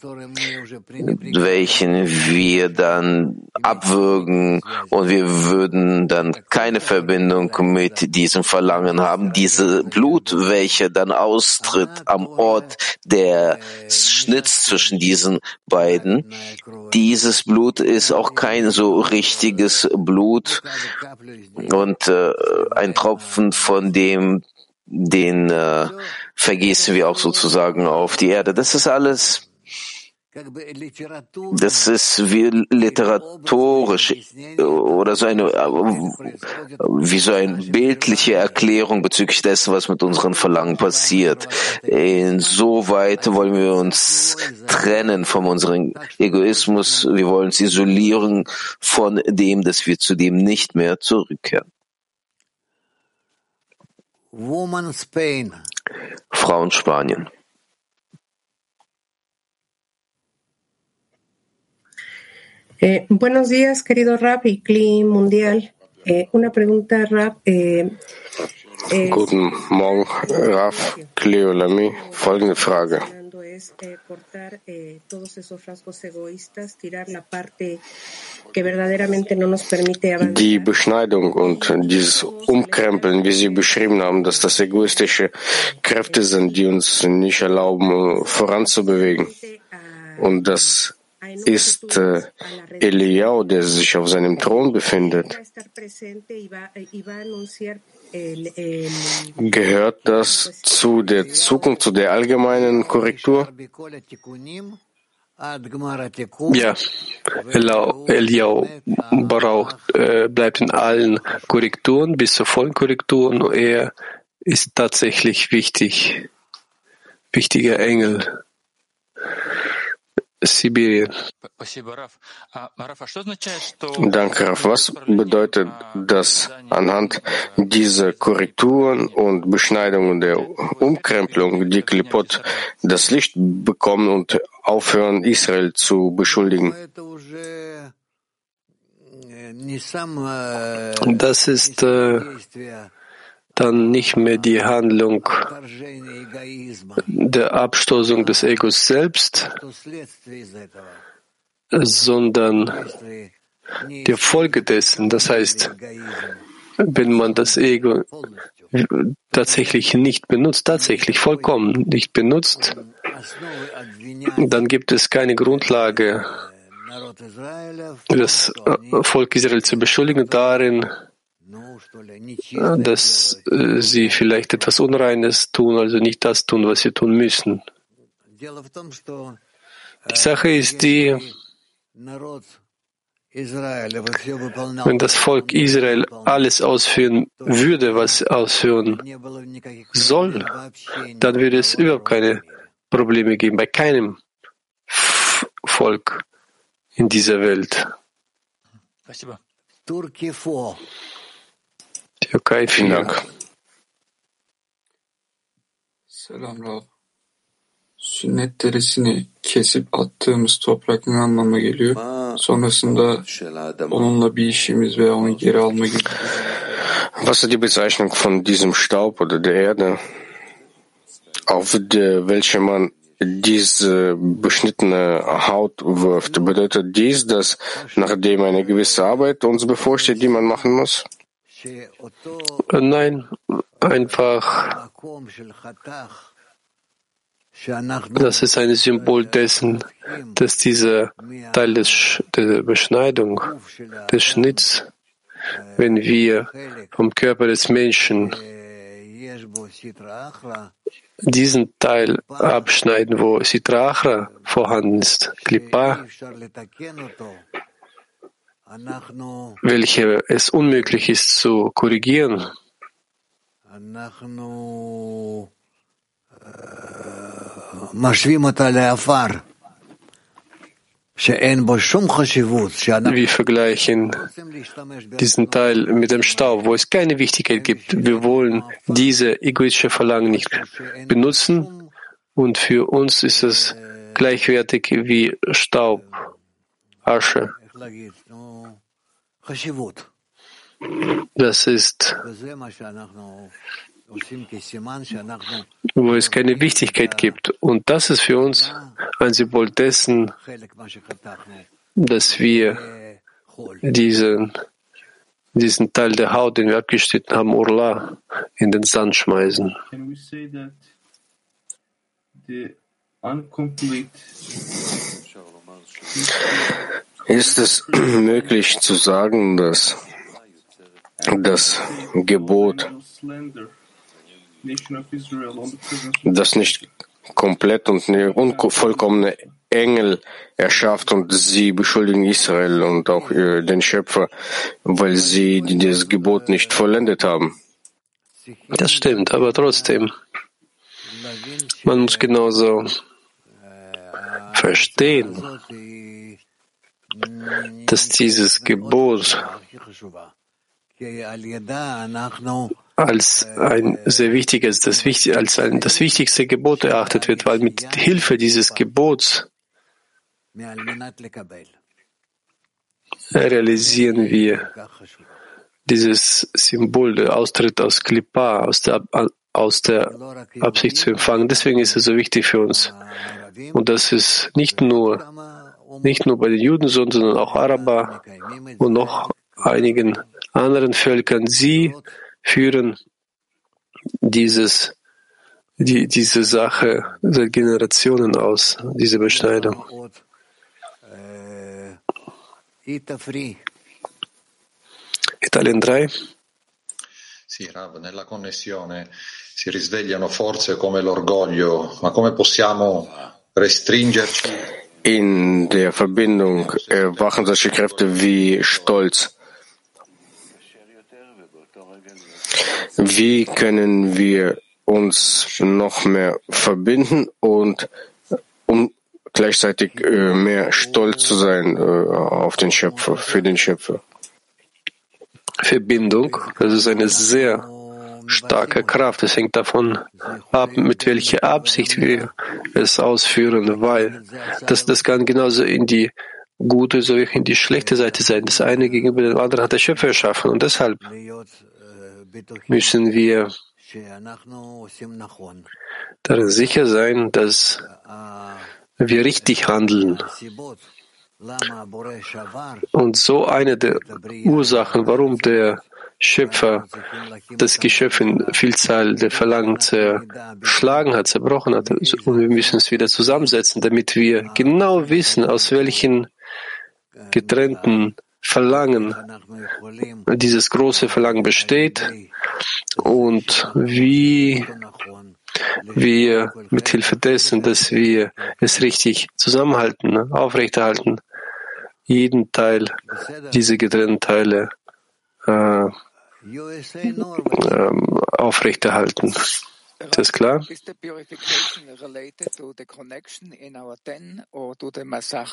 welchen wir dann abwürgen, und wir würden dann keine Verbindung mit diesem Verlangen haben. Diese Blut, welche dann austritt am Ort des Schnitts zwischen diesen beiden, dieses Blut ist auch kein so richtiges Blut, und ein Tropfen von den vergießen wir auch sozusagen auf die Erde. Das ist alles. Das ist wie literatorisch oder so eine bildliche Erklärung bezüglich dessen, was mit unseren Verlangen passiert. Insoweit wollen wir uns trennen von unserem Egoismus. Wir wollen uns isolieren von dem, dass wir zu dem nicht mehr zurückkehren. Frauen Spanien. Buenos días, querido Rab y Kli Mundial. Una pregunta, Rab. Guten Morgen, Raf, Kli Olami. Folgende Frage. Die Beschneidung und dieses Umkrempeln, wie Sie beschrieben haben, dass das egoistische Kräfte sind, die uns nicht erlauben, voranzubewegen. Und das ist Eliyahu, der sich auf seinem Thron befindet. Gehört das zu der Zukunft, zu der allgemeinen Korrektur? Ja, Eliyahu bleibt in allen Korrekturen bis zur vollen Korrektur, und er ist tatsächlich wichtiger Engel. Sibirien. Danke, Raf. Was bedeutet das anhand dieser Korrekturen und Beschneidungen der Umkrempelung, die Klipot das Licht bekommen und aufhören, Israel zu beschuldigen? Das ist dann nicht mehr die Handlung der Abstoßung des Egos selbst, sondern die Folge dessen. Das heißt, wenn man das Ego tatsächlich nicht benutzt, tatsächlich vollkommen nicht benutzt, dann gibt es keine Grundlage, das Volk Israel zu beschuldigen darin, dass sie vielleicht etwas Unreines tun, also nicht das tun, was sie tun müssen. Die Sache ist die, wenn das Volk Israel alles ausführen würde, was ausführen soll, dann würde es überhaupt keine Probleme geben, bei keinem Volk in dieser Welt. Türkei, vielen Dank. Selam Rav. Sünnet derisini kesip attığımız topraktan anlamına geliyor. Sonrasında onunla bir işimiz veya onu geri alma gibi. Was ist die Bezeichnung von diesem Staub oder der Erde, auf welche man diese beschnittene Haut wirft? Bedeutet dies, dass nachdem eine gewisse Arbeit uns bevorsteht, die man machen muss? Nein, einfach, das ist ein Symbol dessen, dass dieser Teil der Beschneidung, des Schnitts, wenn wir vom Körper des Menschen diesen Teil abschneiden, wo Sitra Achra vorhanden ist, Klippa, welche es unmöglich ist zu korrigieren, wir vergleichen diesen Teil mit dem Staub, wo es keine Wichtigkeit gibt. Wir wollen diese egoistische Verlangen nicht benutzen und für uns ist es gleichwertig wie Staub, Asche. Das ist, wo es keine Wichtigkeit gibt. Und das ist für uns ein Symbol dessen, dass wir diesen Teil der Haut, den wir abgeschnitten haben, Urla, in den Sand schmeißen. Ist es möglich zu sagen, dass das Gebot, das nicht komplett und unvollkommene Engel erschafft und sie beschuldigen Israel und auch den Schöpfer, weil sie das Gebot nicht vollendet haben? Das stimmt, aber trotzdem, man muss genauso verstehen, dass dieses Gebot als ein sehr wichtiges, das wichtigste Gebot erachtet wird, weil mit Hilfe dieses Gebots realisieren wir dieses Symbol, der Austritt aus Klippa, aus der Absicht zu empfangen. Deswegen ist es so wichtig für uns. Und das ist nicht nur bei den Juden, sondern auch Araber und noch einigen anderen Völkern. Sie führen diese Sache seit Generationen aus, diese Beschneidung. Italien 3. Sì, Rav, nella connessione si risvegliano forze come l'orgoglio, ma come possiamo restringerci? In der Verbindung erwachen solche Kräfte wie Stolz. Wie können wir uns noch mehr verbinden und um gleichzeitig mehr stolz zu sein auf den Schöpfer, für den Schöpfer? Verbindung, das ist eine sehr starke Kraft. Es hängt davon ab, mit welcher Absicht wir es ausführen, weil das kann genauso in die gute sowie in die schlechte Seite sein. Das eine gegenüber dem anderen hat der Schöpfer erschaffen und deshalb müssen wir darin sicher sein, dass wir richtig handeln. Und so eine der Ursachen, warum der Schöpfer das Geschöpf in Vielzahl der Verlangen zerschlagen hat, zerbrochen hat. Und wir müssen es wieder zusammensetzen, damit wir genau wissen, aus welchen getrennten Verlangen dieses große Verlangen besteht und wie wir mit Hilfe dessen, dass wir es richtig zusammenhalten, aufrechterhalten, jeden Teil, diese getrennten Teile aufrechterhalten. Ist das klar? Is the purification related to the connection in our ten or to the Masach?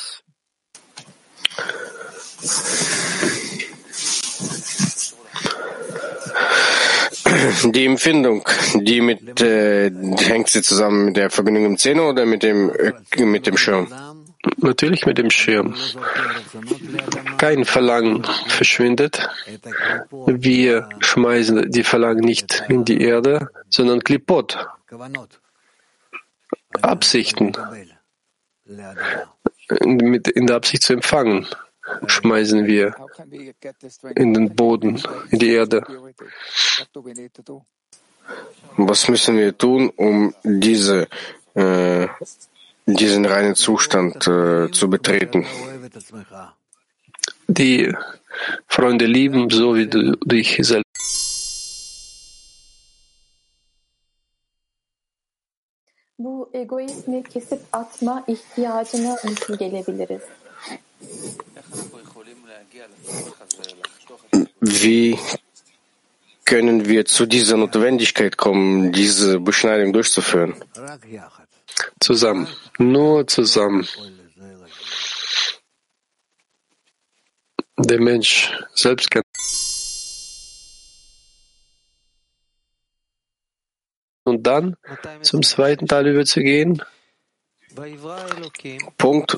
Die Empfindung, hängt sie zusammen mit der Verbindung im Zehner oder mit dem Schirm? Natürlich mit dem Schirm. Kein Verlangen verschwindet. Wir schmeißen die Verlangen nicht in die Erde, sondern Klipot. Absichten. In der Absicht zu empfangen, schmeißen wir in den Boden, in die Erde. Was müssen wir tun, um diesen reinen Zustand zu betreten? Die Freunde lieben, so wie du dich selbst. Bu egoizmi kesip atma ihtiyacına nasıl gelebiliriz? Wie können wir zu dieser Notwendigkeit kommen, diese Beschneidung durchzuführen? Zusammen, nur zusammen. Der Mensch selbst kann. Und dann zum zweiten Teil überzugehen. Punkt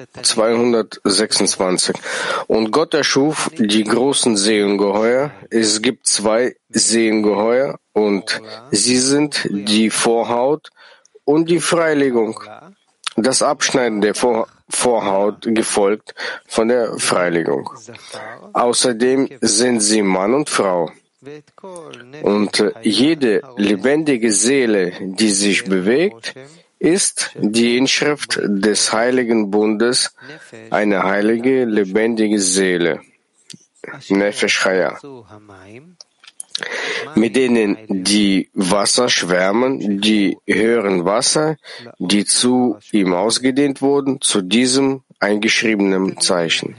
226. Und Gott erschuf die großen Seeungeheuer. Es gibt 2 Seeungeheuer und sie sind die Vorhaut und die Freilegung. Das Abschneiden der Vorhaut gefolgt von der Freilegung. Außerdem sind sie Mann und Frau. Und jede lebendige Seele, die sich bewegt, ist die Inschrift des Heiligen Bundes, eine heilige, lebendige Seele, Nefesh Chaya, mit denen die Wasser schwärmen, die höheren Wasser, die zu ihm ausgedehnt wurden, zu diesem eingeschriebenen Zeichen.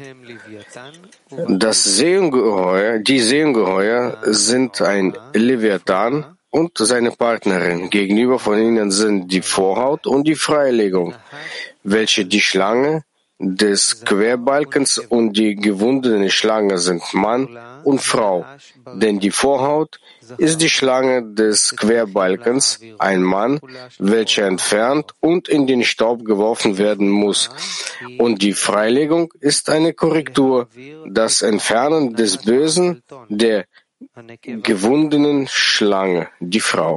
Die Seeungeheuer sind ein Leviathan und seine Partnerin. Gegenüber von ihnen sind die Vorhaut und die Freilegung, welche die Schlange des Querbalkens und die gewundene Schlange sind Mann und Frau, denn die Vorhaut ist die Schlange des Querbalkens, ein Mann, welcher entfernt und in den Staub geworfen werden muss, und die Freilegung ist eine Korrektur, das Entfernen des Bösen, der gewundenen Schlange, die Frau.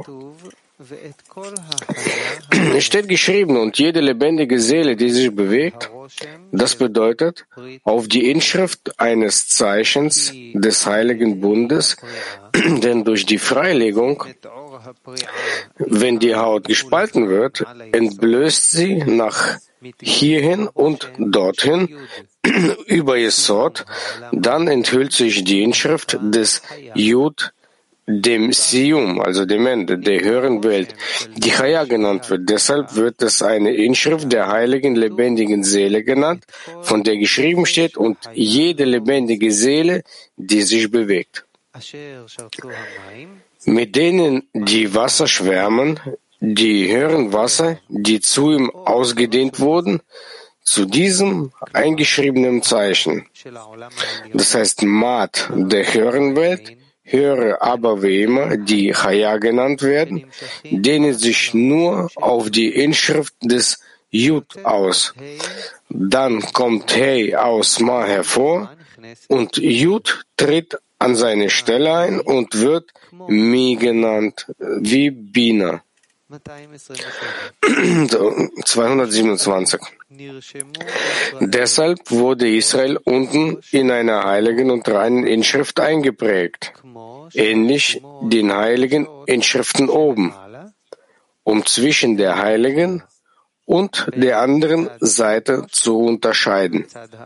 Es steht geschrieben, und jede lebendige Seele, die sich bewegt, das bedeutet, auf die Inschrift eines Zeichens des Heiligen Bundes, denn durch die Freilegung, wenn die Haut gespalten wird, entblößt sie nach hierhin und dorthin über Yesod, dann enthüllt sich die Inschrift des Yud, dem Siyum, also dem Ende der höheren Welt, die Chaya genannt wird. Deshalb wird es eine Inschrift der heiligen, lebendigen Seele genannt, von der geschrieben steht, und jede lebendige Seele, die sich bewegt. Mit denen die Wasser schwärmen, die höheren Wasser, die zu ihm ausgedehnt wurden, zu diesem eingeschriebenen Zeichen. Das heißt, Mat der höheren Welt, höhere aber wie immer, die Chaya genannt werden, dehnen sich nur auf die Inschrift des Yud aus. Dann kommt Hey aus Ma hervor und Yud tritt an seine Stelle ein und wird Mi genannt, wie Bina. 227. Deshalb wurde Israel unten in einer heiligen und reinen Inschrift eingeprägt, ähnlich den heiligen Inschriften oben, um zwischen der heiligen und der anderen Seite zu unterscheiden.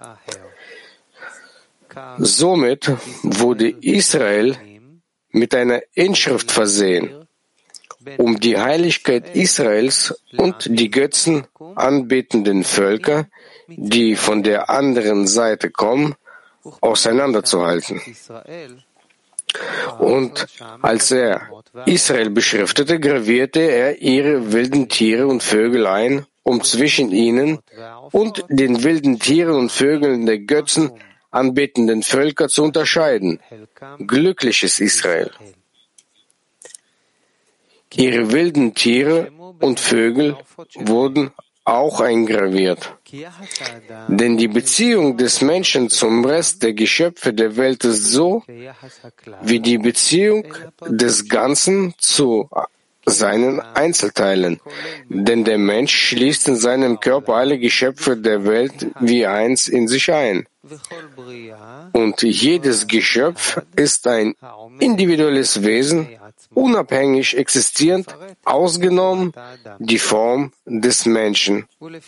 Somit wurde Israel mit einer Inschrift versehen, um die Heiligkeit Israels und die Götzen anbetenden Völker, die von der anderen Seite kommen, auseinanderzuhalten. Und als er Israel beschriftete, gravierte er ihre wilden Tiere und Vögel ein, um zwischen ihnen und den wilden Tieren und Vögeln der Götzen anbetenden Völker zu unterscheiden. Glückliches Israel! Ihre wilden Tiere und Vögel wurden auch eingraviert. Denn die Beziehung des Menschen zum Rest der Geschöpfe der Welt ist so, wie die Beziehung des Ganzen zu seinen Einzelteilen. Denn der Mensch schließt in seinem Körper alle Geschöpfe der Welt wie eins in sich ein. Und jedes Geschöpf ist ein individuelles Wesen, unabhängig existierend, ausgenommen die Form des Menschen.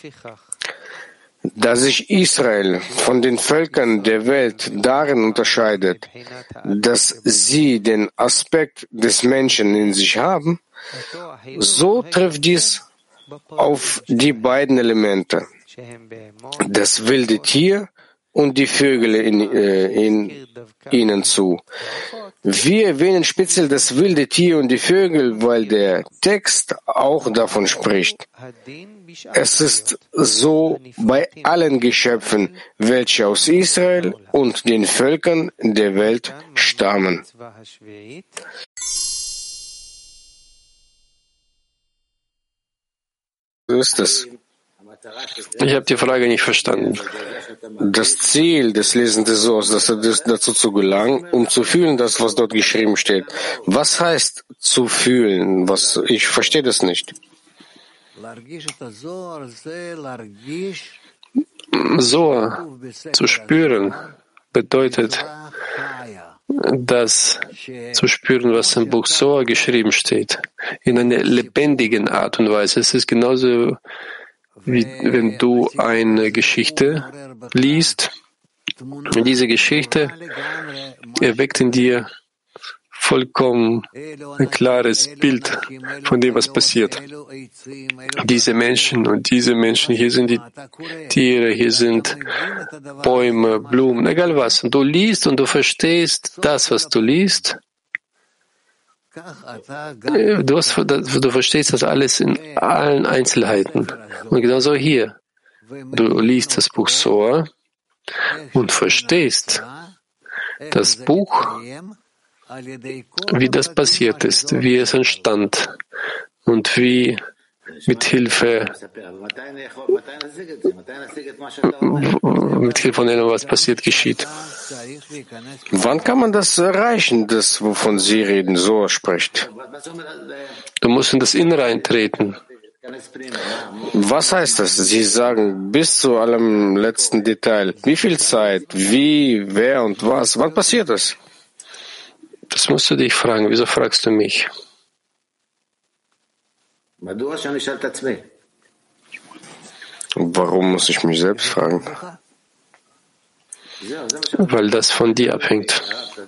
Da sich Israel von den Völkern der Welt darin unterscheidet, dass sie den Aspekt des Menschen in sich haben, so trifft dies auf die beiden Elemente, das wilde Tier und die Vögel in ihnen zu. Wir erwähnen speziell das wilde Tier und die Vögel, weil der Text auch davon spricht. Es ist so bei allen Geschöpfen, welche aus Israel und den Völkern der Welt stammen. So ist es. Ich habe die Frage nicht verstanden. Das Ziel des Lesens des Sohrs, dazu zu gelangen, um zu fühlen, das, was dort geschrieben steht. Was heißt zu fühlen? Ich verstehe das nicht. Sohr, zu spüren, bedeutet, das zu spüren, was im Buch Sohr geschrieben steht, in einer lebendigen Art und Weise. Es ist genauso, wie wenn du eine Geschichte liest. Diese Geschichte erweckt in dir vollkommen ein klares Bild von dem, was passiert. Diese Menschen und diese Menschen, hier sind die Tiere, hier sind Bäume, Blumen, egal was. Und du liest und du verstehst das, was du liest. Du verstehst das alles in allen Einzelheiten. Und genauso hier. Du liest das Buch Sohr und verstehst das Buch, wie das passiert ist, wie es entstand und wie mit Hilfe von dem, was passiert, geschieht. Wann kann man das erreichen, das, wovon Sie reden, so spricht? Du musst in das Innere eintreten. Was heißt das? Sie sagen bis zu allem letzten Detail. Wie viel Zeit? Wie? Wer und was? Wann passiert das? Das musst du dich fragen. Wieso fragst du mich? Warum muss ich mich selbst fragen? Weil das von dir abhängt.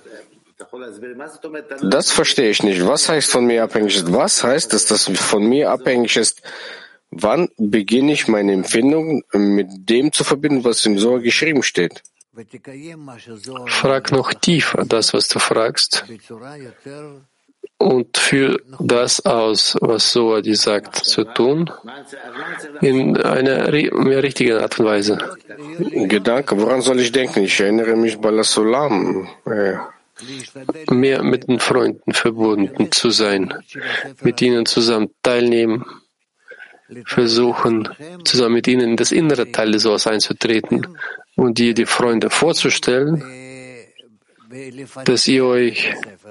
Das verstehe ich nicht. Was heißt von mir abhängig ist? Was heißt, dass das von mir abhängig ist? Wann beginne ich meine Empfindung mit dem zu verbinden, was im Sohr geschrieben steht? Frag noch tiefer das, was du fragst, und führ das aus, was Sohr dir sagt, zu tun, in einer mehr richtigen Art und Weise. Gedanke, woran soll ich denken? Ich erinnere mich bei Sulam. Mehr mit den Freunden verbunden zu sein, mit ihnen zusammen teilnehmen, versuchen, zusammen mit ihnen in das innere Teil des Sohrs einzutreten und dir die Freunde vorzustellen, dass ihr euch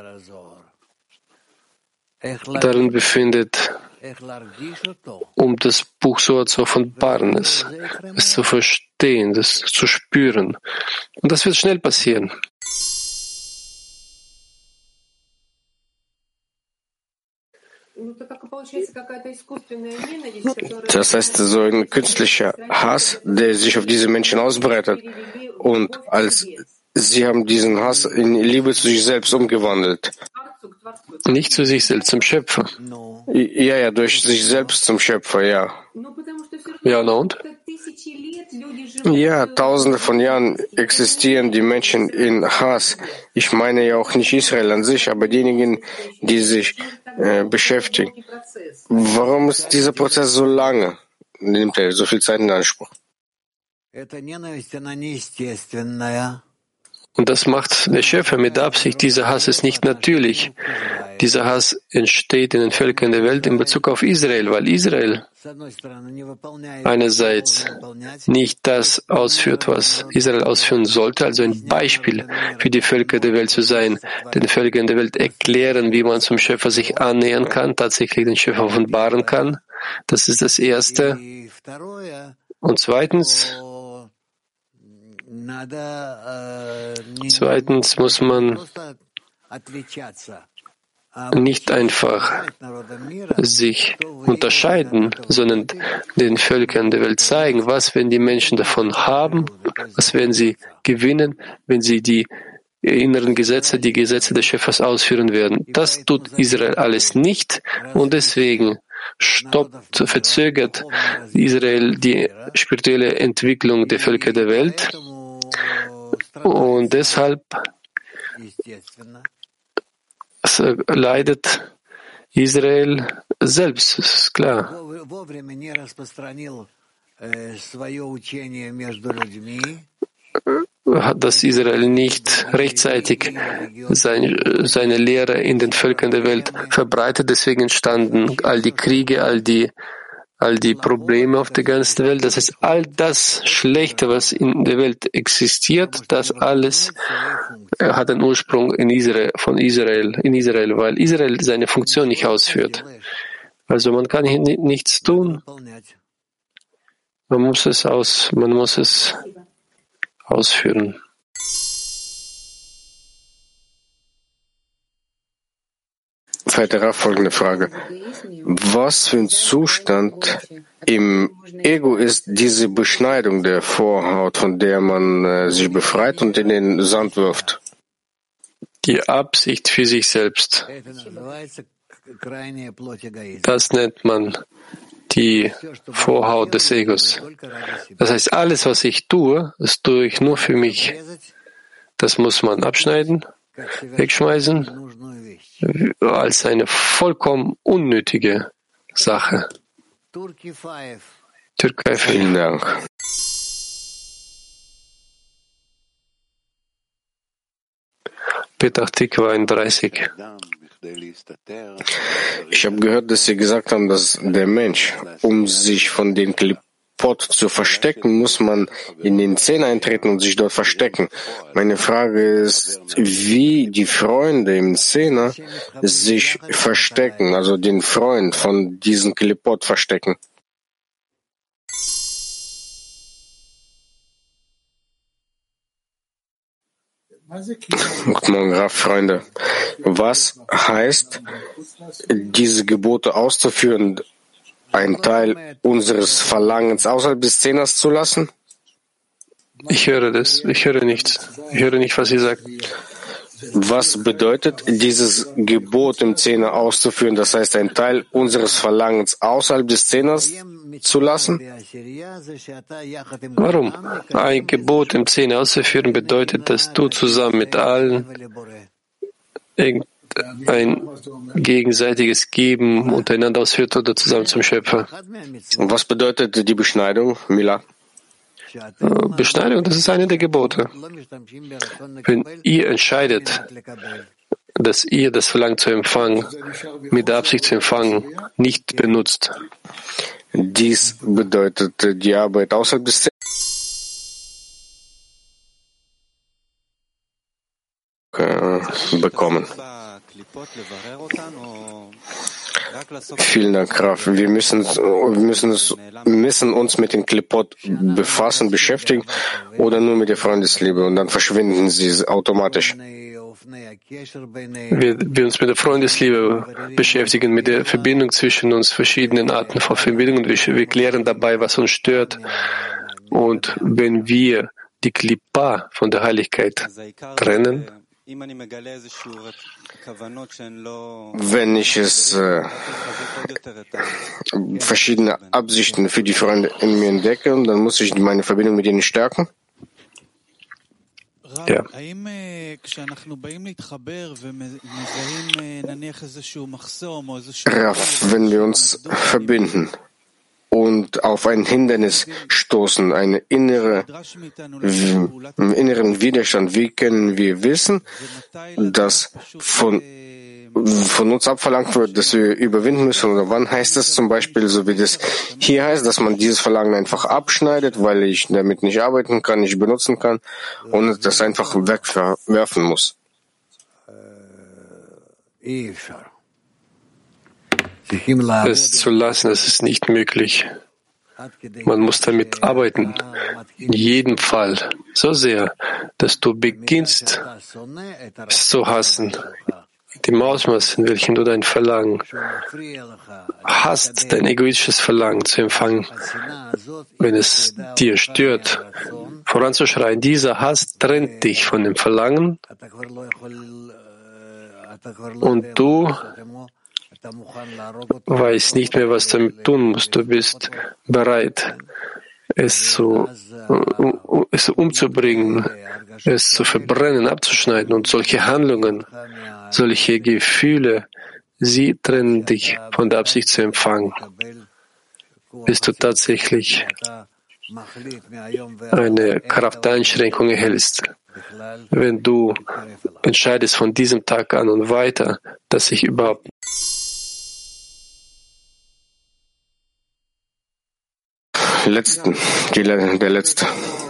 darin befindet, um das Buch so zu offenbaren, es zu verstehen, das zu spüren. Und das wird schnell passieren. Das heißt, so ein künstlicher Hass, der sich auf diese Menschen ausbreitet. Und als sie haben diesen Hass in Liebe zu sich selbst umgewandelt. Nicht zu sich selbst, zum Schöpfer. Ja, durch sich selbst zum Schöpfer, ja. Ja, na und? Ja, tausende von Jahren existieren die Menschen in Hass. Ich meine ja auch nicht Israel an sich, aber diejenigen, die sich beschäftigen. Warum ist dieser Prozess so lange? Nimmt er so viel Zeit in Anspruch? Und das macht der Schöpfer mit Absicht. Dieser Hass ist nicht natürlich. Dieser Hass entsteht in den Völkern der Welt in Bezug auf Israel, weil Israel einerseits nicht das ausführt, was Israel ausführen sollte, also ein Beispiel für die Völker der Welt zu sein, den Völkern der Welt erklären, wie man zum Schöpfer sich annähern kann, tatsächlich den Schöpfer offenbaren kann. Das ist das Erste. Und zweitens muss man nicht einfach sich unterscheiden, sondern den Völkern der Welt zeigen, was werden die Menschen davon haben, was werden sie gewinnen, wenn sie die inneren Gesetze, die Gesetze des Schöpfers ausführen werden. Das tut Israel alles nicht und deswegen verzögert Israel die spirituelle Entwicklung der Völker der Welt und deshalb leidet Israel selbst, das ist klar. Dass Israel nicht rechtzeitig seine Lehre in den Völkern der Welt verbreitet, deswegen entstanden all die Kriege, all die Probleme auf der ganzen Welt. Das heißt, all das Schlechte, was in der Welt existiert, das alles hat einen Ursprung in Israel, weil Israel seine Funktion nicht ausführt. Also man kann hier nichts tun. Man muss es ausführen. Weiter folgende Frage. Was für ein Zustand im Ego ist diese Beschneidung der Vorhaut, von der man sich befreit und in den Sand wirft? Die Absicht für sich selbst. Das nennt man die Vorhaut des Egos. Das heißt, alles, was ich tue, das tue ich nur für mich. Das muss man abschneiden, wegschmeißen, als eine vollkommen unnötige Sache. Türkei, vielen Dank. Petach Tikva 31. Ich habe gehört, dass Sie gesagt haben, dass der Mensch, um sich von den Klipot zu verstecken, muss man in den Zehn eintreten und sich dort verstecken. Meine Frage ist, wie die Freunde im Zehner sich verstecken, also den Freund von diesen Klipot verstecken. Guten Morgen, Rav, Freunde. Was heißt, diese Gebote auszuführen, einen Teil unseres Verlangens außerhalb des Zehners zu lassen? Ich höre das. Ich höre nichts. Ich höre nicht, was Sie sagt. Was bedeutet dieses Gebot im Zehner auszuführen, das heißt, einen Teil unseres Verlangens außerhalb des Zehners zu lassen? Warum? Ein Gebot im Zehner auszuführen bedeutet, dass du zusammen mit allen ein gegenseitiges Geben untereinander ausführt oder zusammen zum Schöpfer. Und was bedeutet die Beschneidung, Mila? Beschneidung, das ist eine der Gebote. Wenn ihr entscheidet, dass ihr das Verlangen zu empfangen, mit der Absicht zu empfangen, nicht benutzt. Dies bedeutet die Arbeit außerhalb des bekommen. Vielen Dank, Raf. Wir müssen uns mit den Klipot befassen, beschäftigen oder nur mit der Freundesliebe und dann verschwinden sie automatisch. Wir uns mit der Freundesliebe beschäftigen, mit der Verbindung zwischen uns, verschiedenen Arten von Verbindungen. Wir klären dabei, was uns stört. Und wenn wir die Klippa von der Heiligkeit trennen, wenn ich verschiedene Absichten für die Freunde in mir entdecke, dann muss ich meine Verbindung mit ihnen stärken. Ja. Raff, wenn wir uns verbinden und auf ein Hindernis stoßen, einen inneren Widerstand, wie können wir wissen, dass von uns abverlangt wird, dass wir überwinden müssen? Oder wann heißt das zum Beispiel, so wie das hier heißt, dass man dieses Verlangen einfach abschneidet, weil ich damit nicht arbeiten kann, nicht benutzen kann und das einfach wegwerfen muss? Es zu lassen, das ist nicht möglich. Man muss damit arbeiten. In jedem Fall. So sehr, dass du beginnst, es zu hassen. Dem Ausmaß, in welchem du dein Verlangen hast, dein egoistisches Verlangen zu empfangen, wenn es dir stört, voranzuschreien. Dieser Hass trennt dich von dem Verlangen und du weißt nicht mehr, was du damit tun musst. Du bist bereit, es umzubringen, es zu verbrennen, abzuschneiden. Und solche Handlungen, solche Gefühle, sie trennen dich von der Absicht zu empfangen. Bis du tatsächlich eine Krafteinschränkung erhältst. Wenn du entscheidest von diesem Tag an und weiter, dass ich überhaupt der letzte.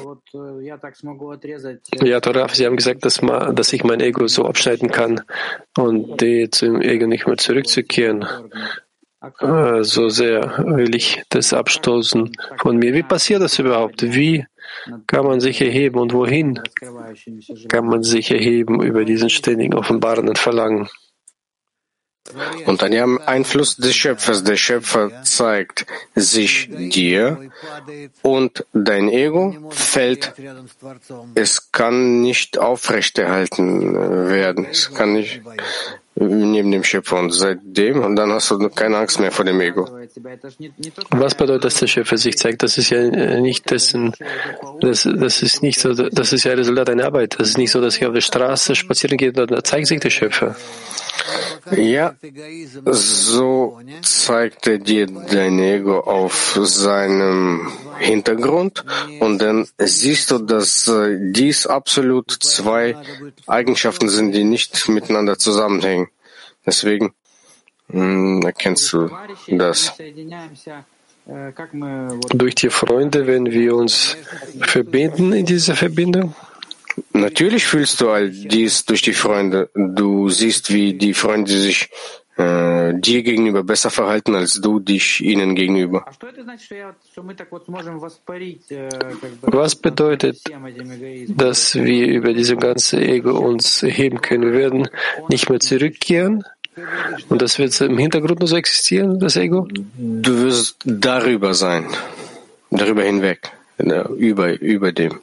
Ja, Toraf, Sie haben gesagt, dass ich mein Ego so abschneiden kann und zum Ego nicht mehr zurückzukehren. So sehr will ich das abstoßen von mir. Wie passiert das überhaupt? Wie kann man sich erheben und wohin kann man sich erheben über diesen ständigen offenbarenden Verlangen? Unter dem Einfluss des Schöpfers. Der Schöpfer zeigt sich dir und dein Ego fällt. Es kann nicht aufrechterhalten werden. Es kann nicht neben dem Schöpfer und seitdem, und dann hast du keine Angst mehr vor dem Ego. Was bedeutet, dass der Schöpfer sich zeigt? Das ist ja nicht dessen, das ist nicht so, das ist ja Resultat einer Arbeit. Das ist nicht so, dass ich auf der Straße spazieren gehe und da zeigt sich der Schöpfer. Ja, so zeigt er dir dein Ego auf seinem Hintergrund und dann siehst du, dass dies absolut zwei Eigenschaften sind, die nicht miteinander zusammenhängen. Deswegen erkennst du das. Durch die Freunde, wenn wir uns verbinden in dieser Verbindung? Natürlich fühlst du all dies durch die Freunde. Du siehst, wie die Freunde sich dir gegenüber besser verhalten, als du dich ihnen gegenüber. Was bedeutet, dass wir über diese ganze Ego uns erheben können? Wir werden nicht mehr zurückkehren und das wird im Hintergrund nur so existieren, das Ego? Du wirst darüber sein, darüber hinweg, über dem.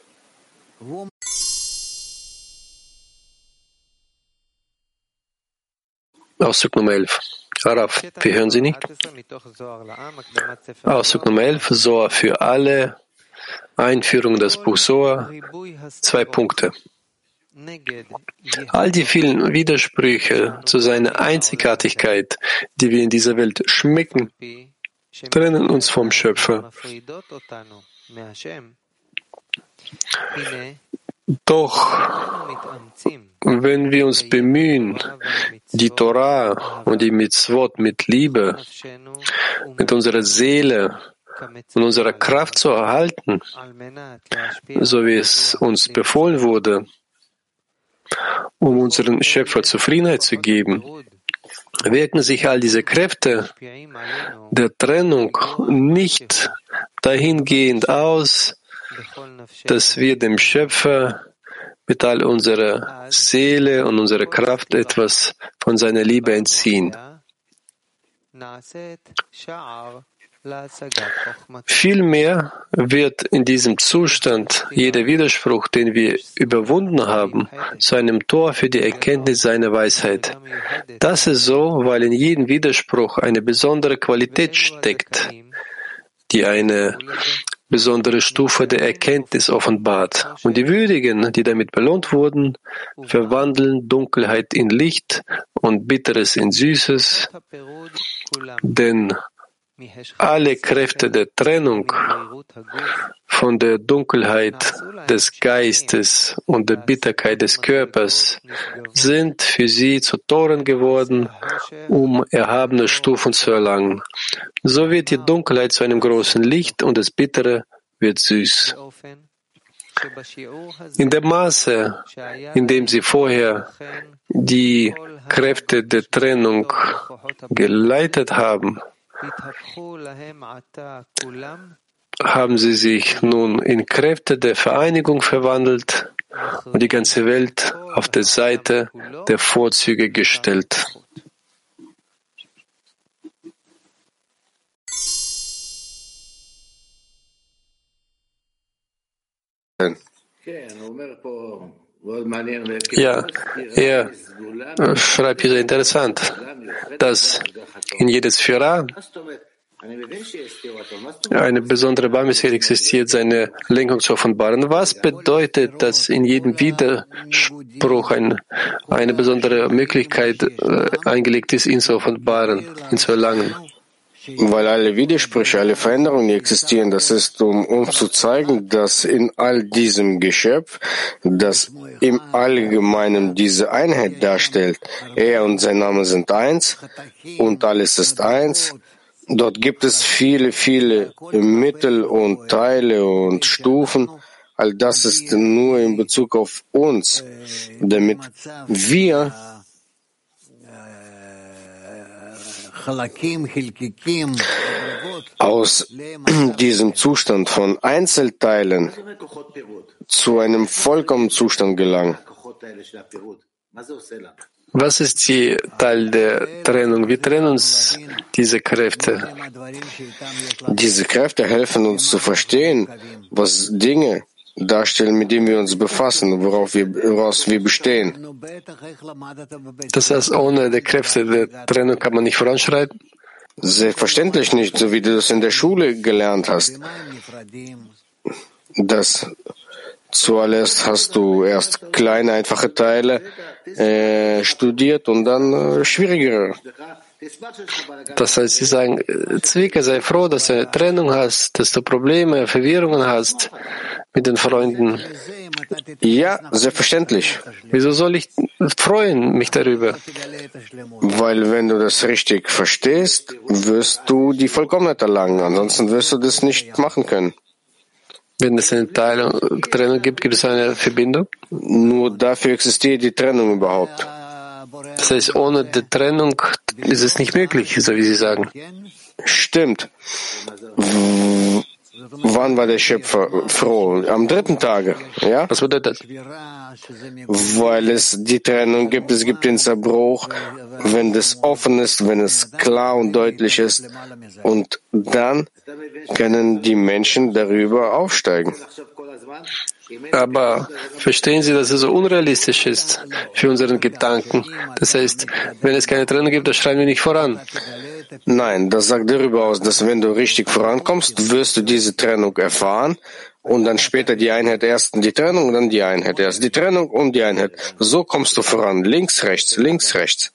Auszug Nummer 11. Araf, wir hören Sie nicht? Auszug Nummer 11, Zohar für alle, Einführung in das Buch Zohar, 2 Punkte. All die vielen Widersprüche zu seiner Einzigartigkeit, die wir in dieser Welt schmecken, trennen uns vom Schöpfer. Doch wenn wir uns bemühen, die Torah und die Mitzvot mit Liebe, mit unserer Seele und unserer Kraft zu erhalten, so wie es uns befohlen wurde, um unseren Schöpfer Zufriedenheit zu geben, wirken sich all diese Kräfte der Trennung nicht dahingehend aus, dass wir dem Schöpfer mit all unserer Seele und unserer Kraft etwas von seiner Liebe entziehen. Vielmehr wird in diesem Zustand jeder Widerspruch, den wir überwunden haben, zu einem Tor für die Erkenntnis seiner Weisheit. Das ist so, weil in jedem Widerspruch eine besondere Qualität steckt, die eine besondere Stufe der Erkenntnis offenbart. Und die Würdigen, die damit belohnt wurden, verwandeln Dunkelheit in Licht und Bitteres in Süßes, denn alle Kräfte der Trennung von der Dunkelheit des Geistes und der Bitterkeit des Körpers sind für sie zu Toren geworden, um erhabene Stufen zu erlangen. So wird die Dunkelheit zu einem großen Licht und das Bittere wird süß. In dem Maße, in dem sie vorher die Kräfte der Trennung geleitet haben, haben sie sich nun in Kräfte der Vereinigung verwandelt und die ganze Welt auf der Seite der Vorzüge gestellt. Ja, er schreibt hier sehr interessant, dass in jeder Sphäre eine besondere Barmherzigkeit existiert, seine Lenkung zu offenbaren. Was bedeutet, dass in jedem Widerspruch eine besondere Möglichkeit eingelegt ist, ihn zu offenbaren, ihn zu erlangen? Weil alle Widersprüche, alle Veränderungen, die existieren, das ist, um uns zu zeigen, dass in all diesem Geschöpf, das im Allgemeinen diese Einheit darstellt, er und sein Name sind eins und alles ist eins. Dort gibt es viele, viele Mittel und Teile und Stufen. All das ist nur in Bezug auf uns, damit wir aus diesem Zustand von Einzelteilen zu einem vollkommenen Zustand gelangen. Was ist die Teil der Trennung? Wie trennen uns diese Kräfte? Diese Kräfte helfen uns zu verstehen, was Dinge darstellen, mit denen wir uns befassen, woraus wir bestehen. Das heißt, ohne die Kräfte der Trennung kann man nicht voranschreiten? Selbstverständlich nicht, so wie du das in der Schule gelernt hast. Das zuallererst hast du erst kleine, einfache Teile studiert und dann schwierigere. Das heißt, Sie sagen, Zwicke, sei froh, dass du eine Trennung hast, dass du Probleme, Verwirrungen hast mit den Freunden. Ja, selbstverständlich. Wieso soll ich freuen mich darüber? Weil wenn du das richtig verstehst, wirst du die Vollkommenheit erlangen. Ansonsten wirst du das nicht machen können. Wenn es eine Trennung gibt, gibt es eine Verbindung? Nur dafür existiert die Trennung überhaupt. Das heißt, ohne die Trennung ist es nicht möglich, so wie Sie sagen. Stimmt. Wann war der Schöpfer froh? Am 3. Tage, ja? Was bedeutet das? Weil es die Trennung gibt, es gibt den Zerbruch, wenn das offen ist, wenn es klar und deutlich ist. Und dann können die Menschen darüber aufsteigen. Aber verstehen Sie, dass es so unrealistisch ist für unseren Gedanken? Das heißt, wenn es keine Trennung gibt, dann schreien wir nicht voran. Nein, das sagt darüber aus, dass wenn du richtig vorankommst, wirst du diese Trennung erfahren und dann später die Einheit, erst die Trennung und dann die Einheit, erst die Trennung und die Einheit. So kommst du voran, links, rechts, links, rechts.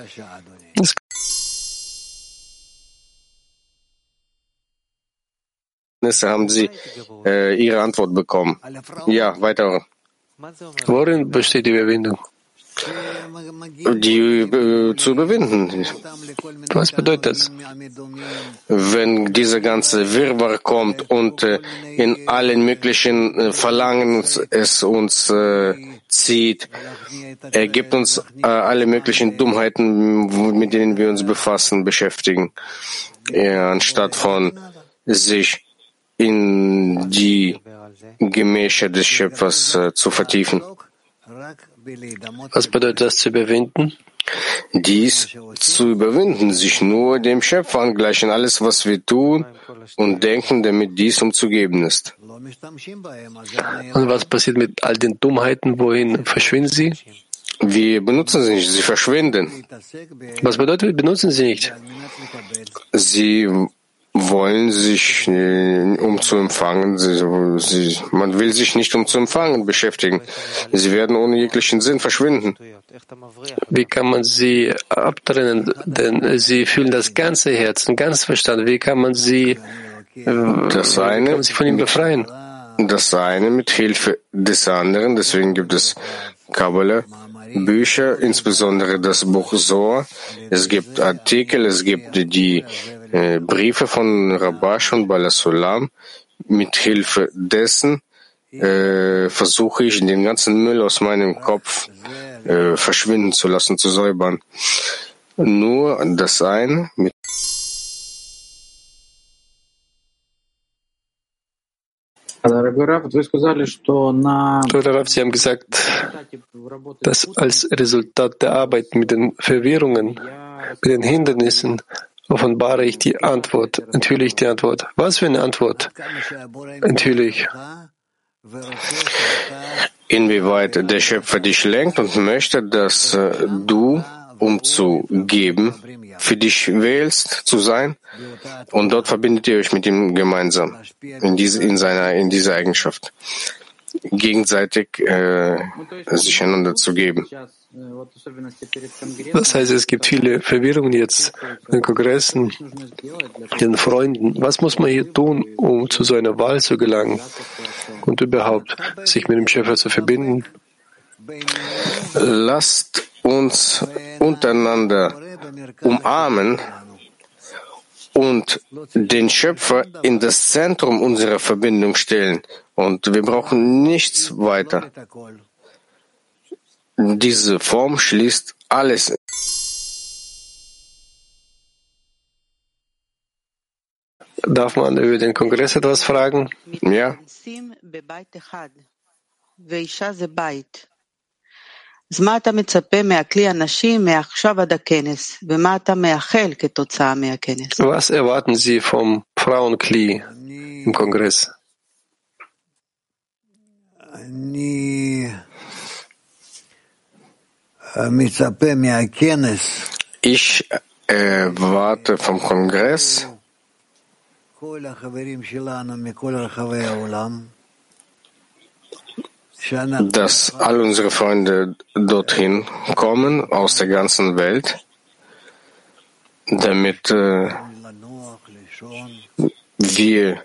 Haben Sie Ihre Antwort bekommen? Ja, weiter. Worin besteht die Überwindung? die zu überwinden. Was bedeutet das? Wenn dieser ganze Wirrwarr kommt und in allen möglichen Verlangen es uns zieht, er gibt uns alle möglichen Dummheiten, mit denen wir uns beschäftigen, anstatt von sich in die Gemächer des Schöpfers zu vertiefen. Was bedeutet das zu überwinden? Dies zu überwinden, sich nur dem Schöpfer angleichen, alles, was wir tun und denken, damit dies umzugeben ist. Und was passiert mit all den Dummheiten? Wohin verschwinden sie? Wir benutzen sie nicht, sie verschwinden. Was bedeutet, wir benutzen sie nicht? Sie wollen sich, um zu empfangen, man will sich nicht um zu empfangen beschäftigen. Sie werden ohne jeglichen Sinn verschwinden. Wie kann man sie abtrennen? Denn sie fühlen das ganze Herz, den ganzen Verstand. Wie kann man sie, kann man sie von ihm befreien? Das eine mit Hilfe des anderen. Deswegen gibt es Kabbalah, Bücher, insbesondere das Buch Zohar. Es gibt Artikel, es gibt die Briefe von Rabash und Baal HaSulam. Mit Hilfe dessen versuche ich, den ganzen Müll aus meinem Kopf verschwinden zu lassen, zu säubern. Nur das eine mit Sie haben gesagt, dass als Resultat der Arbeit mit den Verwirrungen, mit den Hindernissen, offenbare ich die Antwort, enthülle ich die Antwort. Was für eine Antwort enthülle ich? Inwieweit der Schöpfer dich lenkt und möchte, dass du, um zu geben, für dich wählst, zu sein, und dort verbindet ihr euch mit ihm gemeinsam, in dieser Eigenschaft, gegenseitig sich einander zu geben. Das heißt, es gibt viele Verwirrungen jetzt in den Kongressen, den Freunden. Was muss man hier tun, um zu so einer Wahl zu gelangen und überhaupt sich mit dem Schöpfer zu verbinden? Lasst uns untereinander umarmen und den Schöpfer in das Zentrum unserer Verbindung stellen. Und wir brauchen nichts weiter. Diese Form schließt alles. Darf man über den Kongress etwas fragen? Ja. Was erwarten Sie vom Frauenkli im Kongress? Ich erwarte vom Kongress, dass all unsere Freunde dorthin kommen aus der ganzen Welt, damit wir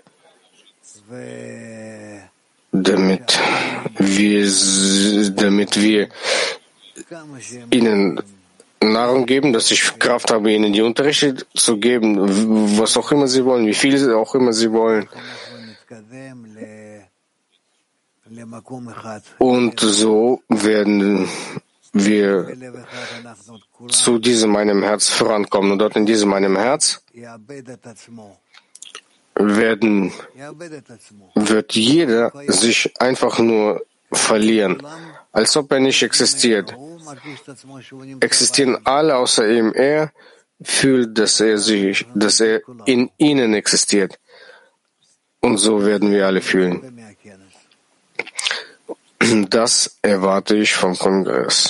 ihnen Nahrung geben, dass ich Kraft habe, ihnen die Unterrichte zu geben, was auch immer sie wollen, wie viel auch immer sie wollen. Und so werden wir zu diesem meinem Herz vorankommen. Und dort in diesem meinem Herz wird jeder sich einfach nur verlieren, als ob er nicht existiert. Existieren alle außer ihm. Er fühlt, dass er in ihnen existiert. Und so werden wir alle fühlen. Das erwarte ich vom Kongress.